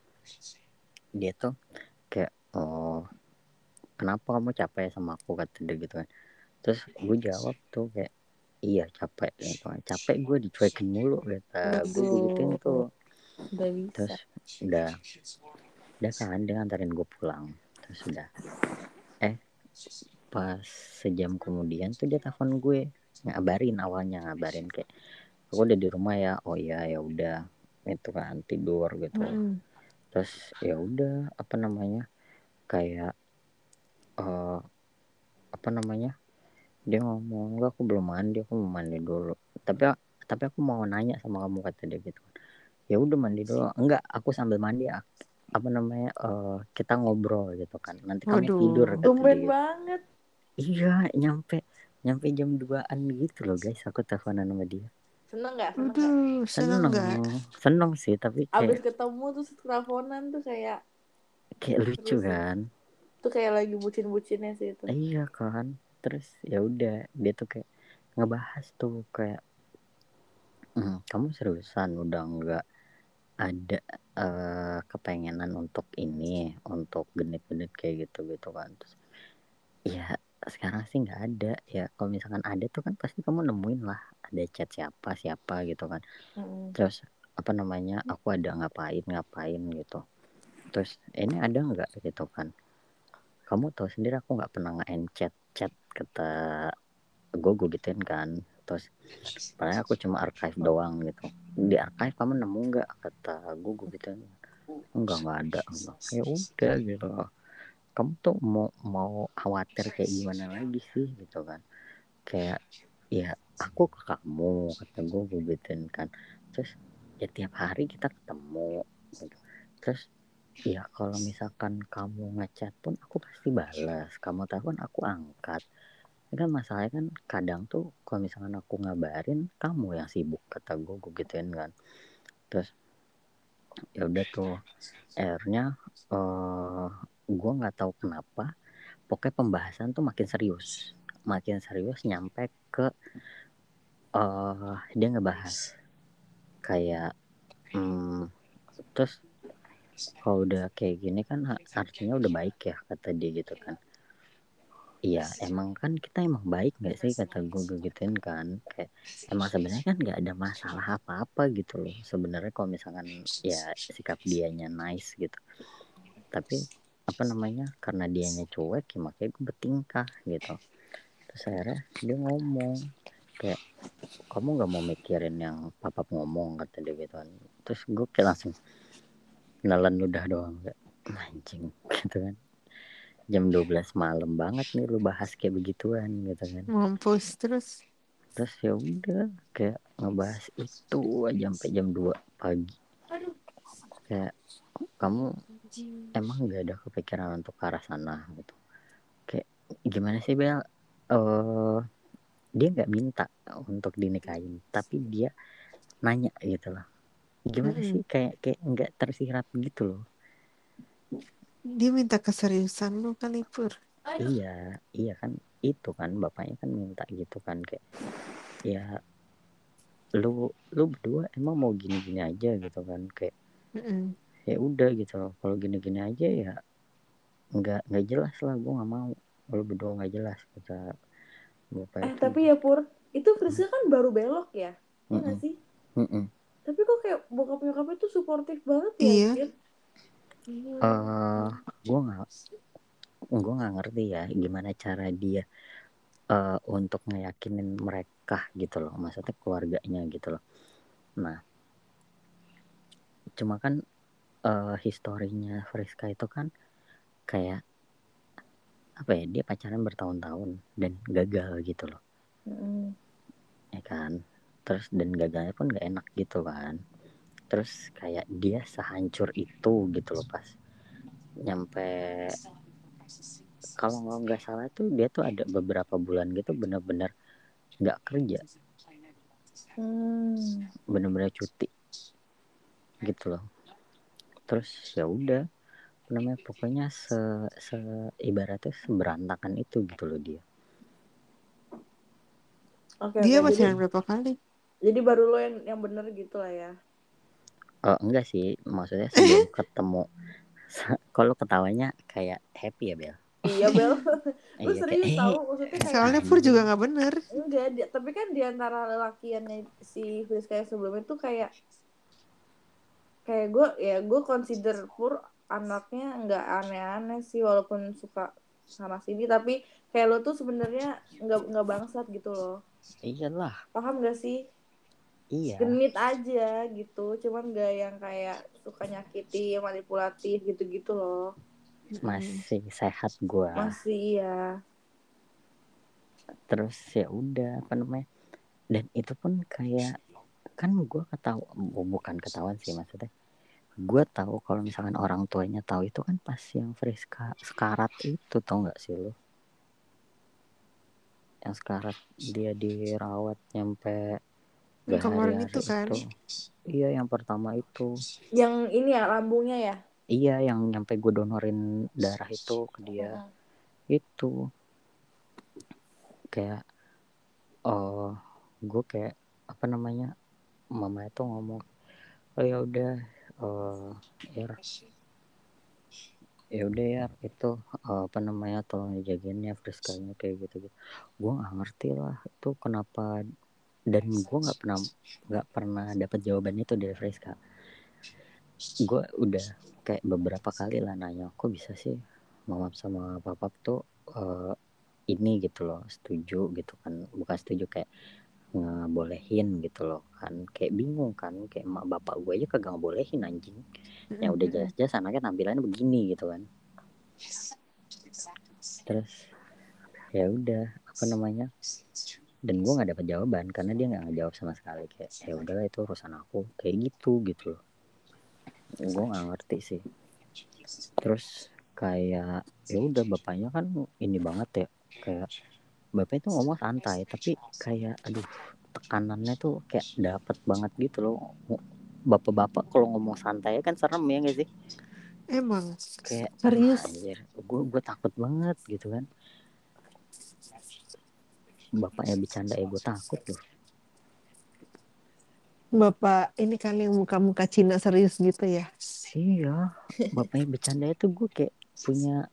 dia tuh kayak, oh kenapa kamu capek sama aku, kata dia gitu kan. Terus gue jawab tuh kayak, iya capek gitu kan, capek gue dicuekin mulu, kata gue gituin tuh. Udah bisa. Terus udah udah kan dia nganterin gue pulang. Terus udah eh pas sejam kemudian tuh dia telepon gue, ngabarin, awalnya ngabarin kayak, aku udah di rumah ya. Oh iya, ya udah itu kan tidur gitu. Mm-mm. Terus ya udah apa namanya, kayak uh, apa namanya, dia ngomong, enggak aku belum mandi, aku mau mandi dulu, tapi tapi aku mau nanya sama kamu, kata dia gitu. Ya udah mandi dulu. Enggak, aku sambil mandi apa namanya, uh, kita ngobrol gitu kan, nanti kamu Waduh. tidur, kata Tumben dia gitu. banget. Iya, nyampe nyampe jam duaan gitu loh guys, aku teleponan sama dia. Seneng gak? Seneng gak? Waduh, seneng Seneng, nggak? seneng sih, tapi Abis kayak ketemu terus teleponan tuh kayak kayak lucu seru sih. kan. Tuh kayak lagi bucin-bucinnya sih itu. Iya kan. Terus ya udah dia tuh kayak ngebahas tuh kayak, hmm, kamu seriusan udah nggak ada uh, kepengenan untuk ini, untuk genit-genit kayak gitu gitu kan. Terus ya sekarang sih nggak ada ya, kalau misalkan ada tuh kan pasti kamu nemuin lah ada chat siapa siapa gitu kan. Mm-mm. Terus apa namanya, aku ada ngapain ngapain gitu. Terus ini ada nggak gitu kan, kamu tahu sendiri aku nggak pernah nge-end chat chat, kata gue gue gituin kan. Terus padahal aku cuma archive doang gitu, di archive kamu nemu nggak, kata gue gue gituin. Enggak nggak ada, enggak. Ya udah gitu, kamu tuh mau mau khawatir kayak gimana lagi sih gitu kan. Kayak ya aku ke kamu, kata gue gue gituin kan. Terus ya tiap hari kita ketemu gitu. Terus ya kalau misalkan kamu ngechat pun aku pasti balas, kamu telepon aku angkat. Ini kan masalahnya kan kadang tuh kalau misalkan aku ngabarin kamu yang sibuk, kata gue gue gituin kan. Terus ya udah tuh akhirnya uh, gue nggak tahu kenapa, pokoknya pembahasan tuh makin serius makin serius nyampe ke uh, dia ngebahas kayak, hmm, terus kalau udah kayak gini kan artinya udah baik ya, kata dia gitu kan. Iya emang kan kita emang baik nggak sih, kata gue gituin kan. Kayak emang sebenarnya kan nggak ada masalah apa-apa gitu loh sebenarnya kalau misalkan ya sikap dianya nice gitu. Tapi apa namanya, karena dianya cuek ya makanya gue bertingkah gitu. Terus akhirnya dia ngomong kayak, kamu nggak mau mikirin yang papa ngomong, kata dia gitu kan. Terus gue kayak langsung nelan ludah doang, kayak anjing gitu kan, jam dua belas malam banget nih lu bahas kayak begituan gitu kan. Mampus terus. Terus ya udah kayak ngebahas itu aja sampai jam dua pagi. Kayak kamu emang nggak ada kepikiran untuk ke arah sana gitu. Kayak gimana sih Bel, uh, dia nggak minta untuk dinikahin tapi dia nanya gitu loh. Gimana Mm-mm. sih, kayak kayak nggak tersirat gitu loh. Dia minta keseriusan lu kali Pur. Iya iya kan, itu kan bapaknya kan minta gitu kan, kayak ya lu lu berdua emang mau gini-gini aja gitu kan. Kayak Mm-mm. ya udah gitu loh, kalau gini-gini aja ya nggak nggak jelas lah, gue nggak mau lu berdua nggak jelas, kata bapaknya Eh tuh. tapi ya Pur, itu Friska kan baru belok ya. ya nggak Mm-mm. sih? Mm-mm. Tapi kok kayak bokap nyokapnya tuh suportif banget ya, Iya. anjir. Gila. Eh, gue nggak gue nggak ngerti ya gimana cara dia eh, untuk ngeyakinin mereka gitu loh, maksudnya keluarganya gitu loh. Nah, cuma kan eh, historinya Friska itu kan kayak apa ya, dia pacaran bertahun-tahun dan gagal gitu loh, Mm-mm. ya kan. Terus dan gagalnya pun gak enak gitu kan. Terus kayak dia sehancur itu gitu loh pas nyampe, kalau nggak salah tuh dia tuh ada beberapa bulan gitu bener-bener nggak kerja, Hmm. bener-bener cuti gitu loh. Terus ya udah, apa namanya, pokoknya se, se ibaratnya seberantakan itu gitu loh dia. Oke, Dia oke. Jadi, pacaran berapa kali? jadi baru lo yang yang bener gitu lah ya. Oh enggak sih, maksudnya sebelum ketemu. Kalau ketawanya kayak happy ya Bel. Iya, Bel. Lu Iya kayak serius eh tahu maksudnya kayak Soalnya Pur anjing. juga nggak bener. enggak dia, tapi kan di antara lelakiannya si Friska yang sebelumnya tuh kayak kayak gue ya gue consider Pur anaknya nggak aneh-aneh sih walaupun suka sana sini, tapi kayak lo tuh sebenarnya nggak nggak bangsat gitu loh. Iyalah, Paham gak sih? iya. Genit aja gitu, cuman gak yang kayak suka nyakiti, manipulatif gitu-gitu loh. Masih sehat gua. Masih ya. Terus ya udah, apa namanya? Dan itu pun kayak kan gua ketawa, oh, bukan ketahuan sih maksudnya. Gua tahu kalau misalkan orang tuanya tahu itu kan pas yang Friska sekarat itu, tau nggak sih lo? Yang sekarat dia dirawat nyampe Yang kemarin berhari-hari itu kan. itu. Iya yang pertama itu. Yang ini ya lambungnya ya. Iya yang nyampe gue donorin darah itu ke dia. Mm-mm. Itu kayak oh gue kayak apa namanya, mama itu ngomong oh ya udah, oh ya ya udah ya itu eh, apa namanya, tolong dijagain ya Friskanya kayak gitu gitu. Gue nggak ngerti lah itu kenapa, dan gue nggak pernah nggak pernah dapat jawaban itu dari Friska. Gue udah kayak beberapa kali lah nanya kok bisa sih mama sama papa tuh uh, ini gitu loh setuju gitu kan, bukan setuju kayak ngebolehin gitu loh kan, kayak bingung kan, kayak emak bapak gue aja kagak ngebolehin anjing, yang udah jelas-jelas anaknya tampilannya begini gitu kan. Terus ya udah, apa namanya, dan gue nggak dapat jawaban karena dia nggak ngejawab sama sekali, kayak ya udahlah itu urusan aku kayak gitu gitu loh. Gue nggak ngerti sih. Terus kayak ya udah bapaknya kan ini banget ya, kayak bapaknya tuh ngomong santai tapi kayak aduh tekanannya tuh kayak dapet banget gitu loh. Bapak-bapak kalau ngomong santai kan serem ya nggak sih? Emang Kayak serius. anjir, gue gue takut banget gitu kan. Bapaknya bercanda ya gue takut loh. Bapak ini kan yang muka-muka Cina serius gitu ya. Iya, bapaknya bercanda itu gue kayak punya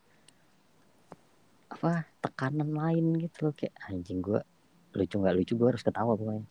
apa tekanan lain gitu loh, kayak anjing gue lucu nggak lucu gue harus ketawa pokoknya.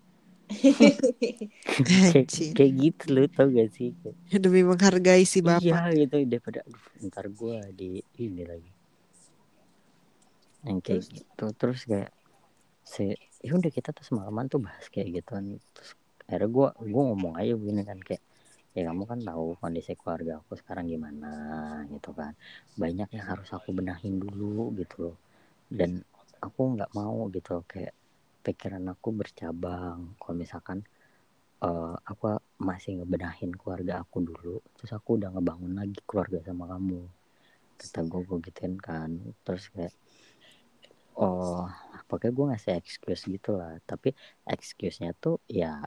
kayak, kayak gitu loh, tau gak sih? Demi menghargai si bapak. Iya gitu, daripada aduh ntar gue di ini lagi yang kayak terus, gitu. Terus kayak si ya udah kita tuh semalaman tuh bahas kayak gitu kan. Terus akhirnya gue gue ngomong aja begini kan, kayak ya kamu kan tahu kondisi keluarga aku sekarang gimana gitu kan, banyak yang harus aku benahin dulu gitu loh, dan aku nggak mau gitu loh, kayak pikiran aku bercabang kalau misalkan uh, aku masih ngebenahin keluarga aku dulu terus aku udah ngebangun lagi keluarga sama kamu, kata gue gue gituin kan. Terus kayak oh pokoknya gue ngasih excuse gitu lah, tapi excuse-nya tuh ya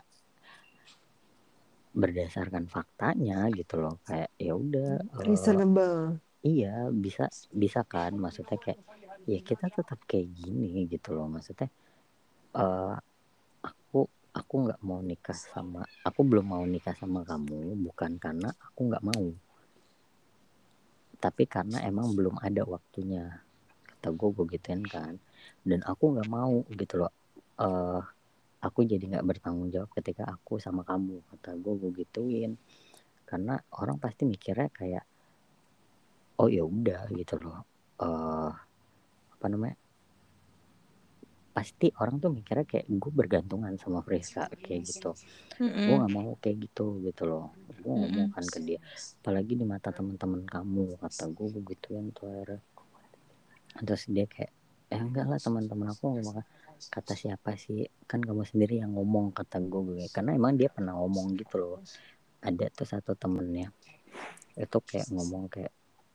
berdasarkan faktanya gitu loh, kayak ya udah uh, reasonable. Iya bisa bisa kan, maksudnya kayak ya kita tetap kayak gini gitu loh, maksudnya uh, aku aku nggak mau nikah sama aku belum mau nikah sama kamu bukan karena aku nggak mau, tapi karena emang belum ada waktunya, kata gue gue gituin kan. Dan aku nggak mau gitu loh uh, aku jadi nggak bertanggung jawab ketika aku sama kamu, kata gue gue gituin. Karena orang pasti mikirnya kayak oh ya udah gitu loh, uh, apa namanya, pasti orang tuh mikirnya kayak gue bergantungan sama Friska kayak gitu. Gue Mm-mm. nggak mau kayak gitu gitu loh. Gue ngomong Mm-mm. kan ke dia, apalagi di mata teman-teman kamu, kata gue gue gituin tuh akhirnya. Terus dia kayak eh enggak lah, teman-teman aku ngomong, kata siapa sih, kan kamu sendiri yang ngomong, kata gue. Karena emang dia pernah ngomong gitu loh, ada tuh satu temennya itu kayak ngomong kayak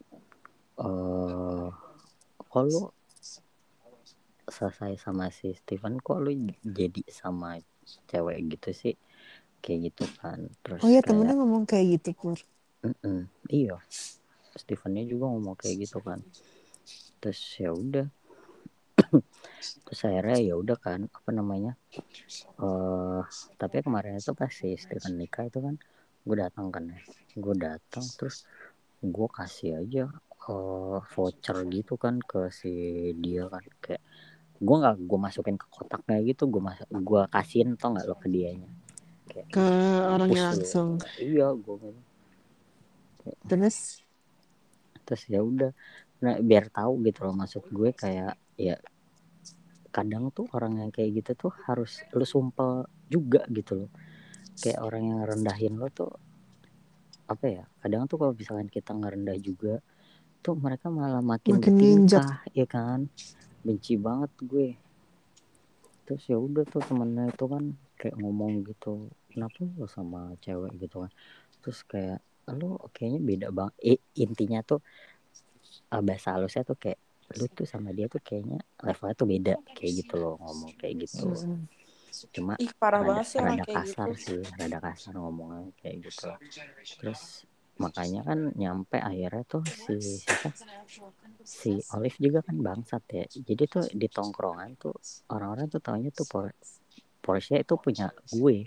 eh kok lu selesai sama si Steven kok lu jadi sama cewek gitu sih, kayak gitu kan. Terus Oh ya, kayak temennya ngomong kayak gitu, Pur. "Mm-mm, iya Stevennya juga ngomong kayak gitu kan." Terus ya udah, terus akhirnya ya udah kan, apa namanya, uh, tapi kemarin itu pas si Steven nikah itu kan gue datang kan ya, gue datang terus gue kasih aja uh, voucher gitu kan ke si dia kan, kayak gue nggak gue masukin ke kotaknya gitu, gue masuk gue kasihin tau nggak lo ke dianya, kayak Ke orangnya mampus lo. langsung. Iya gue gitu. Terus Terus ya udah, nah biar tahu gitu loh, maksud gue kayak ya kadang tuh orang yang kayak gitu tuh harus lu sumpel juga gitu loh, kayak orang yang rendahin lo tuh apa ya, kadang tuh kalau misalkan kita ngerendah juga tuh mereka malah makin makin nginjak. bertingkah ya kan, benci banget gue. Terus ya udah tuh temennya itu kan kayak ngomong gitu, kenapa lo sama cewek gitu kan, terus kayak lo kayaknya beda banget. Eh, intinya tuh uh, bahasa halusnya tuh kayak lu tuh sama dia tuh kayaknya levelnya tuh beda kayak gitu loh, ngomong kayak gitu. Mm-mm. Cuma Ih, parah rada banget sih orang rada kayak kasar gitu. sih, rada kasar ngomongnya kayak gitu. Terus makanya kan nyampe akhirnya tuh si siapa, si Olive juga kan bangsat ya. Jadi tuh di tongkrongan tuh orang-orang tuh taunya tuh Por- Porsche itu punya gue,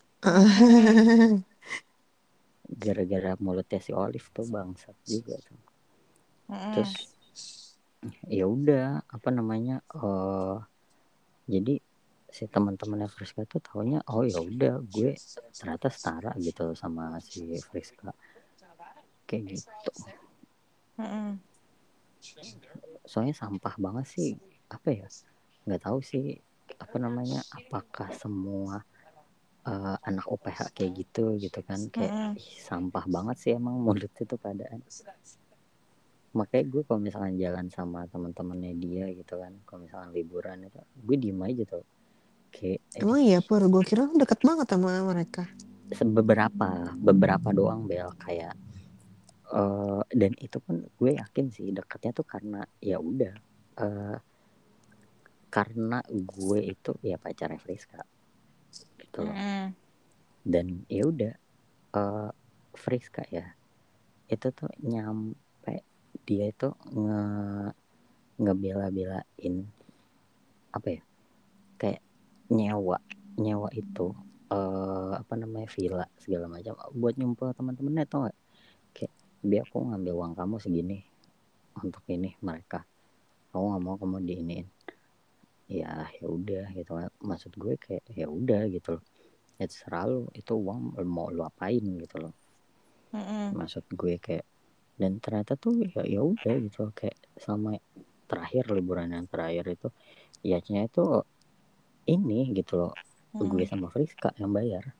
gara-gara mulutnya si Olive tuh bangsat juga tuh. Mm-mm. Terus ya udah, apa namanya, uh, jadi si teman-temannya Friska tuh taunya oh ya udah gue ternyata setara gitu sama si Friska kayak gitu. Mm-mm. Soalnya sampah banget sih, apa ya, nggak tahu sih apa namanya, apakah semua uh, anak U P H kayak gitu gitu kan, kayak Mm-mm. ih, sampah banget sih emang mulut itu keadaan. Makanya gue kalau misalkan jalan sama teman-temannya dia gitu kan, kalau misalkan liburan itu gue diem aja tuh, kayak eh, Emang iya, Pur, gue kira lu deket banget sama mereka. beberapa beberapa doang Bel, kayak uh, dan itu pun gue yakin sih deketnya tuh karena ya udah uh, karena gue itu ya pacarnya Friska gitu loh. Mm-mm. Dan ya udah, uh, Friska ya itu tuh nyampe dia itu nge ngebela-belain apa ya, kayak nyewa nyewa itu uh, apa namanya, villa segala macam buat nyumpel teman-temannya tau gak, kayak biar aku ngambil uang kamu segini untuk ini mereka, kamu nggak mau kamu diiniin, ya ya udah gitu. Maksud gue kayak ya udah gitu loh, ya terserah lu itu uang mau lu apain gitu loh. Mm-mm. Maksud gue kayak, dan ternyata tuh ya ya udah gitu loh, kayak sama terakhir liburan yang terakhir itu ianya itu ini gitu loh, gue Mm-mm. sama Friska yang bayar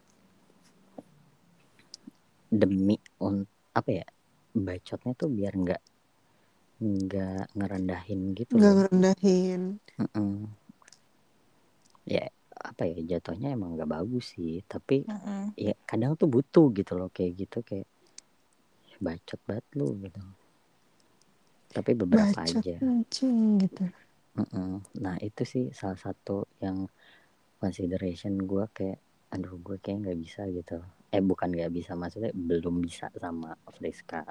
demi un apa ya, bacotnya tuh biar nggak nggak ngerendahin gitu Nggak loh. ngerendahin. Mm-mm. Ya apa ya, jatuhnya emang nggak bagus sih, tapi Mm-mm. ya kadang tuh butuh gitu loh kayak gitu, kayak bacot banget lu gitu, tapi beberapa Bacot aja. anjing gitu. Mm-mm. Nah itu sih salah satu yang consideration gue, kayak aduh gue kayak nggak bisa gitu, eh bukan nggak bisa, maksudnya belum bisa sama Friska.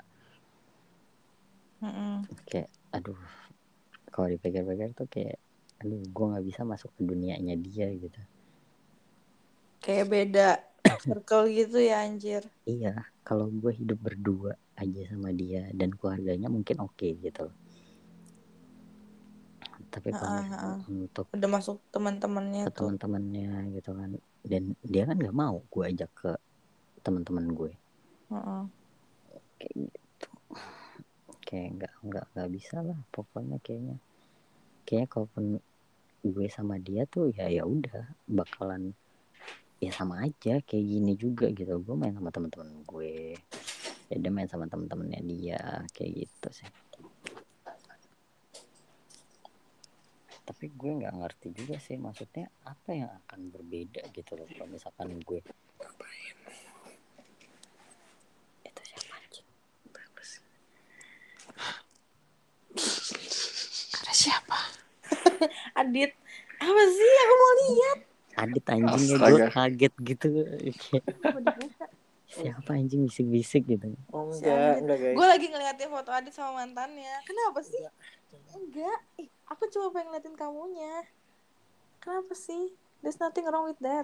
Mm-mm. Kayak aduh kalau dipikir-pikir tuh kayak aduh gue nggak bisa masuk ke dunianya dia gitu. Kayak beda circle gitu ya anjir. Iya, kalau gue hidup berdua aja sama dia dan keluarganya mungkin oke okay, gitu. Tapi kalau Heeh, misalkan heeh. untuk Udah masuk teman-temannya ke tuh. teman-temannya gitu kan, dan dia kan nggak mau gue ajak ke teman-teman gue Heeh. kayak gitu, kayak nggak nggak nggak bisa lah pokoknya. Kayaknya kayaknya kalaupun gue sama dia tuh ya ya udah bakalan ya sama aja kayak gini juga gitu. Gue main sama teman-teman gue, ya dia main sama teman-temannya dia kayak gitu sih. Tapi gue nggak ngerti juga sih maksudnya apa yang akan berbeda gitu loh kalau misalkan gue itu siapa anjing? Ada siapa? Adit, apa sih? Aku mau lihat. Adit anjingnya gue Astaga. kaget gitu. Mau dibuka. Siapa anjing bisik-bisik gitu. Oh Si enggak, Adit. enggak guys. Gue lagi ngeliatin foto Adit sama mantannya. Kenapa sih? Enggak. Ih, aku cuma pengen ngeliatin kamunya. Kenapa sih? There's nothing wrong with that.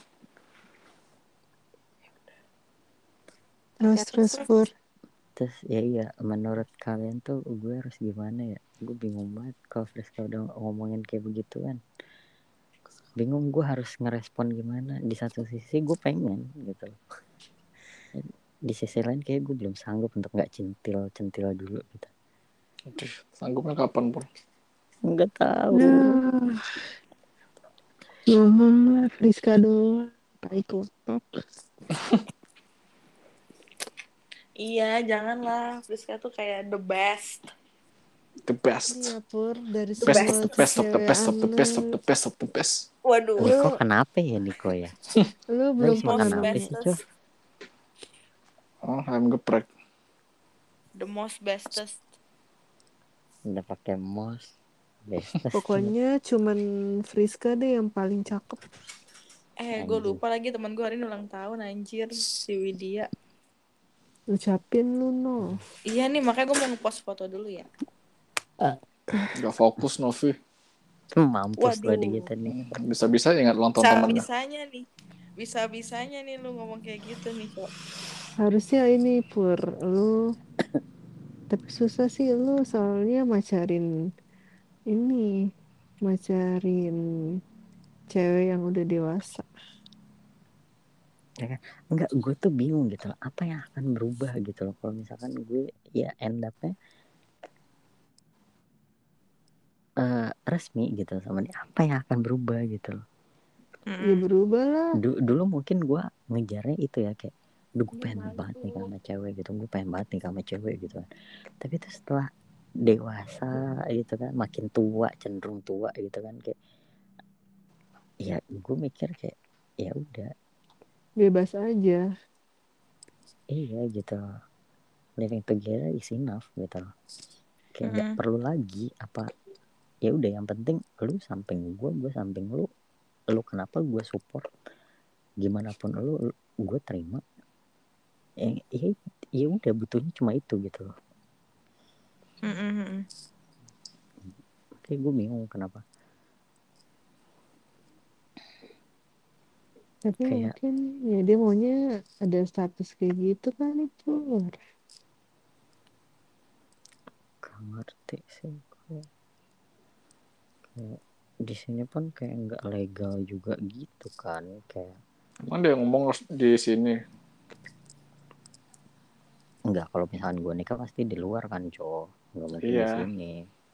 Terus Ya, terus terus. Pur. Terus ya iya, menurut kalian tuh gue harus gimana ya? Gue bingung banget kalau Friska udah ngomongin kayak begitu kan. Bingung gue harus ngerespon gimana. Di satu sisi gue pengen gitu loh. Di sisi lain kayak gue belum sanggup untuk gak centil-centil dulu gitu. Aduh, sanggupnya kapan, Pur? Nggak tahu. Nah, ngomong lah Friska doang. Tai kotok. Iya, janganlah. Friska tuh kayak the best. The best. Iya Pur, dari The best semua of the best of the best of the best of the kesewean best of the best. Waduh. Niko kenapa ya Niko ya? lu Lu belum habis makan pernah apa Most sih bestest. Cok? Oh, ayam geprek. The most bestest. Udah pakai mos. Bestes. pokoknya cuman Friska deh yang paling cakep. Eh, gue Anjing. lupa lagi teman gue hari ini ulang tahun anjir, si Widya. Ucapin lu no. Iya nih, makanya gue mau ngepost foto dulu ya. Gak fokus, Novi. Mampus lo Waduh. di kita nih. Bisa-bisa ingat ulang tahun temannya. Bisa-bisanya nih. Bisa-bisanya nih lu ngomong kayak gitu nih, Cok. Harusnya ini Pur, lu tapi susah sih lu soalnya macarin ini, macarin cewek yang udah dewasa. Enggak, gue tuh bingung gitu loh. Apa yang akan berubah gitu loh. Kalau misalkan gue ya end up-nya uh, resmi gitu sama dia. Apa yang akan berubah gitu loh. Ya berubah lah. Du- dulu mungkin gue ngejarnya itu ya kayak, duh gue pengen banget nih sama cewek gitu. Gue pengen banget nih sama cewek gitu kan. Tapi itu setelah dewasa gitu kan, makin tua, cenderung tua gitu kan kayak, ya gue mikir kayak ya udah. Bebas aja. Iya gitu loh. Living together is enough gitu loh. Kayak nggak Mm-mm. perlu lagi apa. Ya udah yang penting lu samping gue, gue samping lu. Lu kenapa gue support. Gimana pun lu, gue terima. Eh, ya, ya udah butuhnya cuma itu gitu loh. Mm-mm. Kayak gue bingung kenapa. Tapi Kayak- mungkin ya dia maunya ada status kayak gitu kali Pur. Gak ngerti sih gue. Kayak di sini pun kayak nggak legal juga gitu kan, kayak Emang dia ngomong di sini. nggak, kalau misalkan gue nikah pasti di luar kan cowok, nggak mungkin Iya. di sini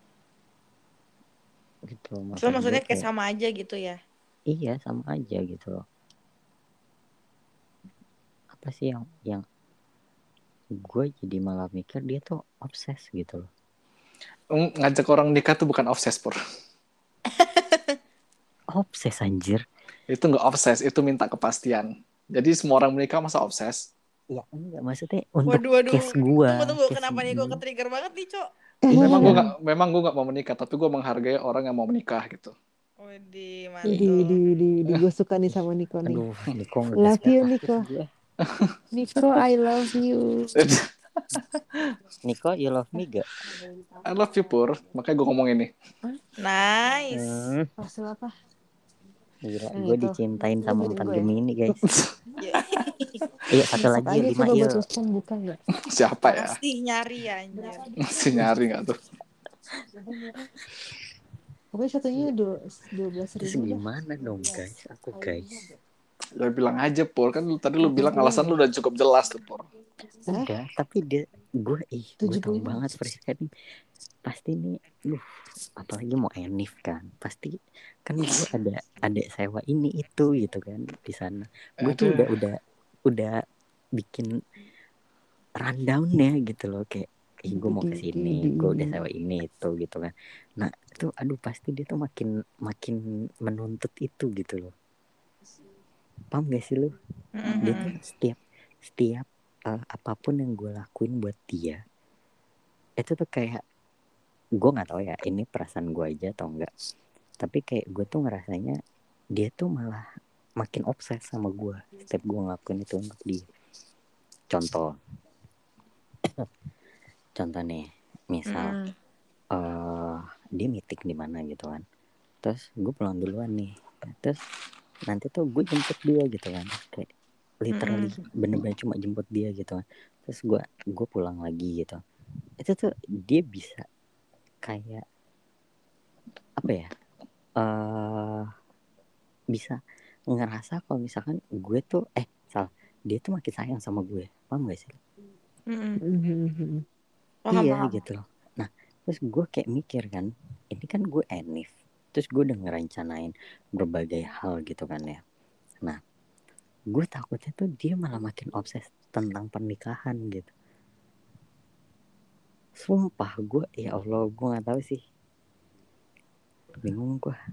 gitu. So, Maksud maksudnya gue kayak sama aja gitu ya. iya sama aja gitu loh. Apa sih yang yang gue jadi malah mikir dia tuh obses gitu loh. Ngajak orang nikah tuh bukan obses, Pur. Obses anjir. Itu nggak obses, itu minta kepastian. Jadi semua orang menikah masa obses? Ya enggak, maksudnya untuk Waduh, waduh. case gue. Tunggu, tunggu. case Kenapa nih gue gue. ke-trigger banget nih, Cok? Memang gue Iya. nggak, memang gue nggak mau menikah, tapi gue menghargai orang yang mau menikah gitu. Widih, Widih, mantul. widih, widih, widih. Gue suka nih sama Niko nih. Aduh, Niko nggak Love you, takut Niko. gue. Niko, I love you. Niko, you love me gak? I love you, Pur. Makanya gue ngomong ini. Nice. Hmm, Parcel apa? gila, Nah, gue itu. dicintain Lu sama beliin empat gue ya? Gemini guys. Ya, Iya, satu Besok lagi aja lima coba iya. buat respon buka nggak? Siapa ya? Pasti nyari ya, anjir. Masih nyari nggak tuh? Pokoknya satunya dua belas Terus ribu dah. gimana dong guys? Aku guys. Lu bilang aja Pur, kan lu tadi lu Oh, bilang tujuh puluh alasan ya? lu udah cukup jelas tuh Pur. Udah, tapi dia gue ih gue tujuh tahu puluh. banget Friska nih. Pasti nih, duh, apalagi mau enif kan. Pasti kan gue ada ada sewa ini itu gitu kan di sana. Gue tuh Aduh. udah udah udah bikin rundownnya gitu loh, kayak ih gue mau kesini, gue udah sewa ini itu gitu kan. Nah itu aduh pasti dia tuh makin makin menuntut itu gitu loh. Paham gak sih lu? Dia tuh setiap setiap uh, apapun yang gue lakuin buat dia itu tuh kayak, gue nggak tahu ya ini perasaan gue aja atau enggak, tapi kayak gue tuh ngerasanya dia tuh malah makin obses sama gue setiap gue ngelakuin itu untuk dia. Contoh contoh nih, misal Mm. uh, dia meeting di mana gitu kan, terus gue pulang duluan nih, terus nanti tuh gue jemput dia gitu kan, kayak literally Mm-mm. bener-bener cuma jemput dia gitu kan, terus gue gue pulang lagi gitu. Itu tuh dia bisa kayak apa ya, uh, bisa ngerasa kalau misalkan gue tuh eh salah dia tuh makin sayang sama gue. Paham gak sih? Mm-mm. Paham, Iya paham. gitu loh. Nah terus gue kayak mikir kan, ini kan gue enif, terus gue udah ngerencanain berbagai hal gitu kan ya. Nah gue takutnya tuh dia malah makin obses tentang pernikahan gitu. Sumpah gue, ya Allah gue nggak tahu sih, bingung gue.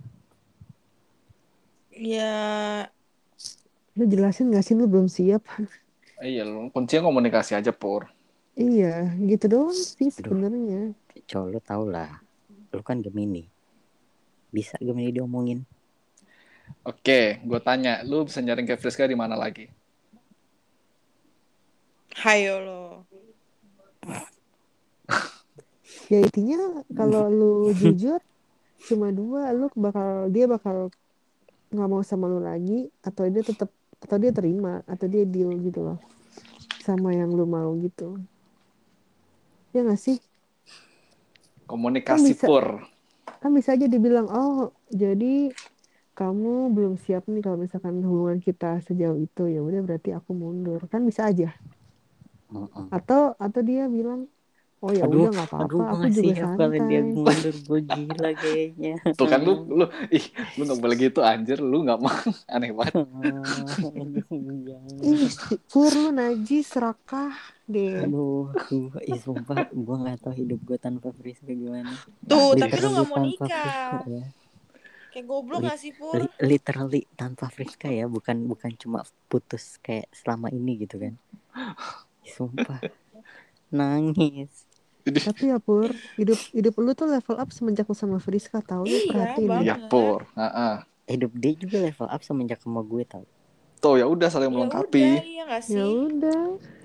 Ya, Lu jelasin gak sih lu belum siap? Iya, lu kuncinya komunikasi aja Pur. Iya, gitu doang sih Aduh. sebenarnya. Coba lu tau lah, lu kan Gemini, bisa Gemini diomongin. Oke, gue tanya, lu bisa nyaring kayak Friska di mana lagi? hayo lo. Ya intinya kalau lu jujur cuma dua, lu bakal dia bakal nggak mau sama lu lagi, atau dia tetap atau dia terima atau dia deal gitu loh sama yang lu mau gitu. Ya nggak sih? Kan Komunikasi bisa Pur. kan bisa aja dibilang, oh jadi kamu belum siap nih kalau misalkan hubungan kita sejauh itu, ya udah berarti aku mundur, kan bisa aja. Uh-uh. Atau atau dia bilang, oh ya Aduh, udah nggak aduh apa-apa, gue aku gak juga siap kalau dia santai. mundur, gue gila kayaknya. Tuh kan lu, lu, ih, lu gak boleh gitu anjir, lu gak mau, aneh banget. Ih, si- Pur lu najis, serakah deh. Aduh, gue, ih sumpah, gue gak tahu hidup gue tanpa Friska gimana. Tuh, tapi lu Literally nggak mau tanpa nikah. Friska ya. Kayak goblok Li- gak sih, Pur? li- literally tanpa Friska ya, bukan bukan cuma putus kayak selama ini gitu kan. Sumpah, nangis. Tapi ya Pur, hidup hidup lu tuh level up semenjak lu sama Friska, tau lu Iya, perhatiin banget. ya. Iya Pur. Uh-uh. Hidup dia juga level up semenjak sama gue tau. Tuh ya udah saling Ya melengkapi. udah, iya gak Ya sih? udah,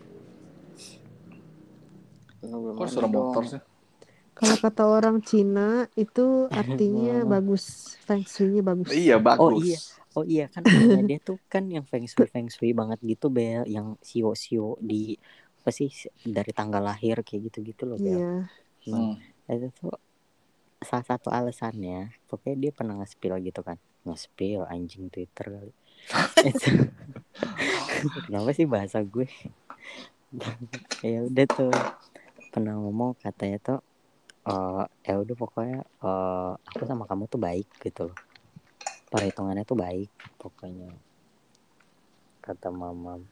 Kok suara motor sih? kalau kata orang Cina itu artinya bagus, feng shui-nya bagus. Iya bagus. Oh iya, oh iya kan orangnya dia tuh kan yang feng shui feng shui banget gitu Bel, yang sio sio di apa sih dari tanggal lahir kayak gitu gitu loh Bel. Iya. Nah Hmm. itu tuh salah satu alasannya, pokoknya dia pernah nge-spill gitu kan, nge-spill anjing Twitter kali. Itu- Kenapa sih bahasa gue? Ya udah tuh pernah ngomong katanya tuh, uh, ya udah pokoknya uh, aku sama kamu tuh baik gitu loh, perhitungannya tuh baik pokoknya, kata mama.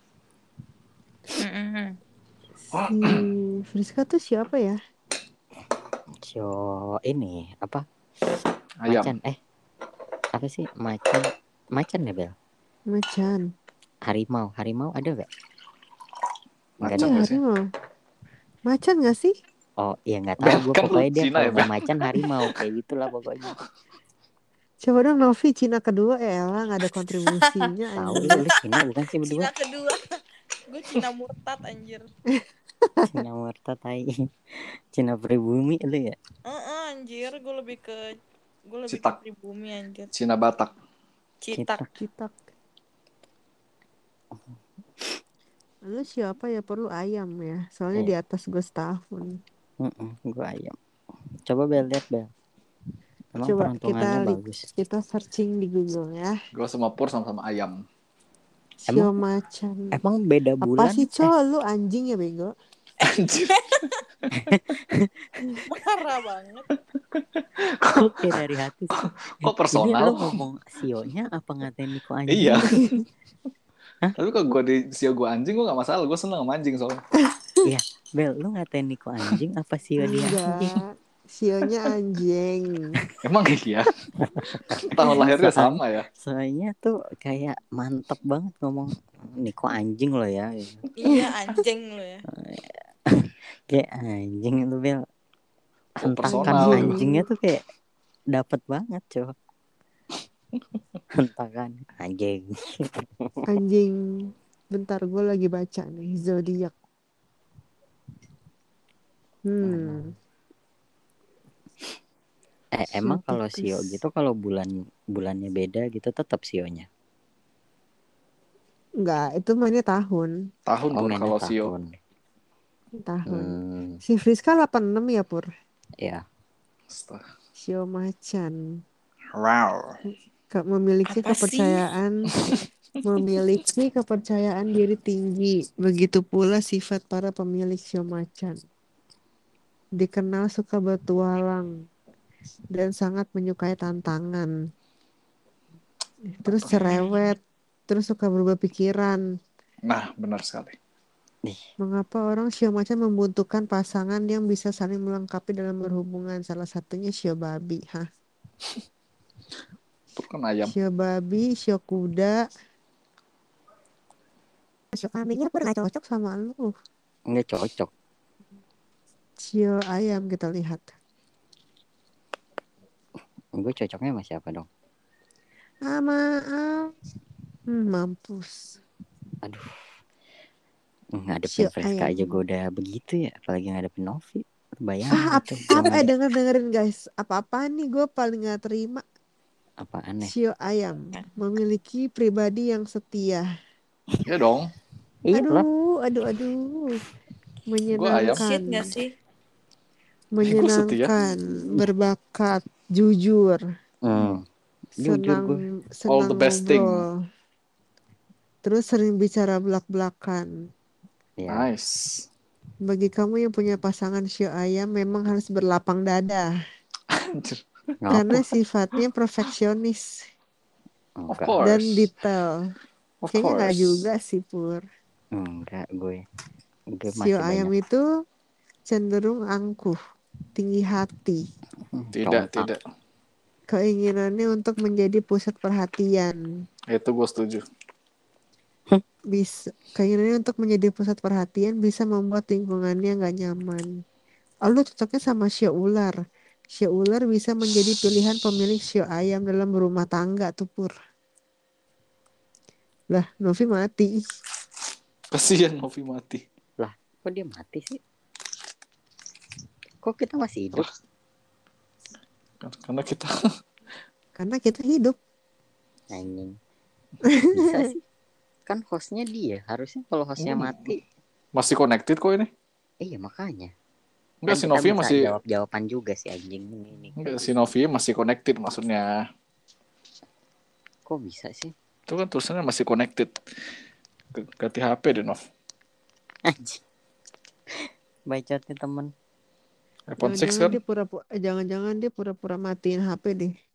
Mm-mm. Si Friska tuh siapa ya? Sio ini apa? Ayam. Macan eh apa sih macan macan ya Bel? Macan. Harimau harimau ada gak? Enggak Macan Iya, ada. gak sih? harimau. Macan gak sih? Oh iya nggak tahu Bel, gue, kan lu pokoknya dia Cina kalau ya, nggak Bel? macan harimau kayak gitulah pokoknya. Coba dong Novi, Cina kedua, eh Ella gak ada kontribusinya. Tahu anjing. lu lu Cina bukan sih berdua? Cina kedua. Gue Cina murtad anjir. Cina murtad tai. Cina pribumi lu ya? Heeh, anjir, gue lebih ke gue lebih Citak. ke pribumi anjir. Cina Batak. Citak. Citak. Lu siapa ya, perlu ayam ya? Soalnya Iya. di atas gue setahun. Heeh, gue ayam. Coba Bel lihat Bel. Emang Coba peruntungannya kita li- bagus. kita searching di Google ya. Gue sama Pur sama-sama ayam. Sio Emang- macan. Emang beda Apa bulan? sih, Co? Lu anjing ya, bego? Anjir. Marah banget. Kok kayak dari hati sih? Kok Ini personal? lo ngomong sionya apa ngatain Niko anjing? Iya. Tapi kalau gue di sio gue anjing, gue gak masalah. Gue seneng sama anjing soalnya. Bel, lu ngatain Niko anjing apa sio dia anjing? Enggak. Sionya anjing. Emang iya? Tahun lahirnya Soal- sama ya? Soalnya tuh kayak mantep banget ngomong Niko anjing lo ya. Iya anjing lu ya. Kayak anjing itu Bel. Kok Hentakan personal? anjingnya tuh kayak dapet banget coba. Hentakan anjing. Anjing. Bentar, gue lagi baca nih. Zodiak. Hmm. Eh emang Sio kalau Pisces. sio gitu kalau bulan bulannya beda gitu tetap sionya. Enggak, itu mainnya tahun. Tahun Oh Pur mainnya kalau sio. tahun. Tahun. Hmm, Si Friska delapan puluh enam ya, Pur? ya. Astaga. Sio macan. Wow. Ke- memiliki Apa sih? kepercayaan memiliki kepercayaan diri tinggi. Begitu pula sifat para pemilik sio macan. Dikenal suka bertualang dan sangat menyukai tantangan. Terus cerewet, terus suka berubah pikiran. Nah, benar sekali. Mengapa orang sio macan membutuhkan pasangan yang bisa saling melengkapi dalam berhubungan? Salah satunya sio babi, hah? Pur kan ayam. Sio babi, sio kuda. Sio kambingnya pun gak cocok sama lu. Nggak cocok. Sio ayam kita lihat. Gue cocoknya sama siapa dong? Ah, maaf. Hmm, mampus. Aduh. Sio Ngadepin Friska ayam. aja gue udah begitu ya. Apalagi ngadepin Novi. Bayangin Ah, ap- tuh. apa, Gua eh, ngade- denger dengerin guys. Apa-apa nih gue paling gak terima. apa aneh. Sio ayam memiliki pribadi yang setia. Ya dong. Iya lah. Aduh, aduh, aduh. ayam. Shit Menyenangkan. gak sih? Menyenangkan, berbakat, jujur, Hmm. Jujur senang, gue. senang All the best thing. ngobrol. Terus sering bicara belak-belakan. Ya. Nice. Bagi kamu yang punya pasangan sio ayam memang harus berlapang dada. Anjir. Karena Ngapa? sifatnya perfeksionis Of Enggak. course. dan detail. Of Kayaknya course. gak juga sih, Pur. Enggak gue. Gue Sio masih ayam banyak. itu cenderung angkuh, tinggi hati. Tidak, Compak. tidak. Keinginannya untuk menjadi pusat perhatian. Itu gue setuju. Bisa keinginannya untuk menjadi pusat perhatian bisa membuat lingkungannya nggak nyaman. Oh, lu cocoknya sama sio ular. Sio ular bisa menjadi pilihan pemilik sio ayam dalam berumah tangga tuh, Pur. Lah, Novi mati. Kasihan Novi mati. Lah, kok dia mati sih? Kok kita masih hidup? Karena kita Karena kita hidup. Anjing. Bisa sih. Kan hostnya dia. Harusnya kalau hostnya Hmm. mati. masih connected kok ini. Iya makanya. Enggak, Kan si kita Novi bisa masih jawab-jawaban juga sih anjing ini. enggak, si Novi masih connected maksudnya. Kok bisa sih? Itu kan tulisannya masih connected. G- Ganti H P deh, Nov. Anjing. Bacotnya temen. iPhone enam Jangan-jangan kan? dia pura-pura, jangan-jangan dia pura-pura matiin H P deh.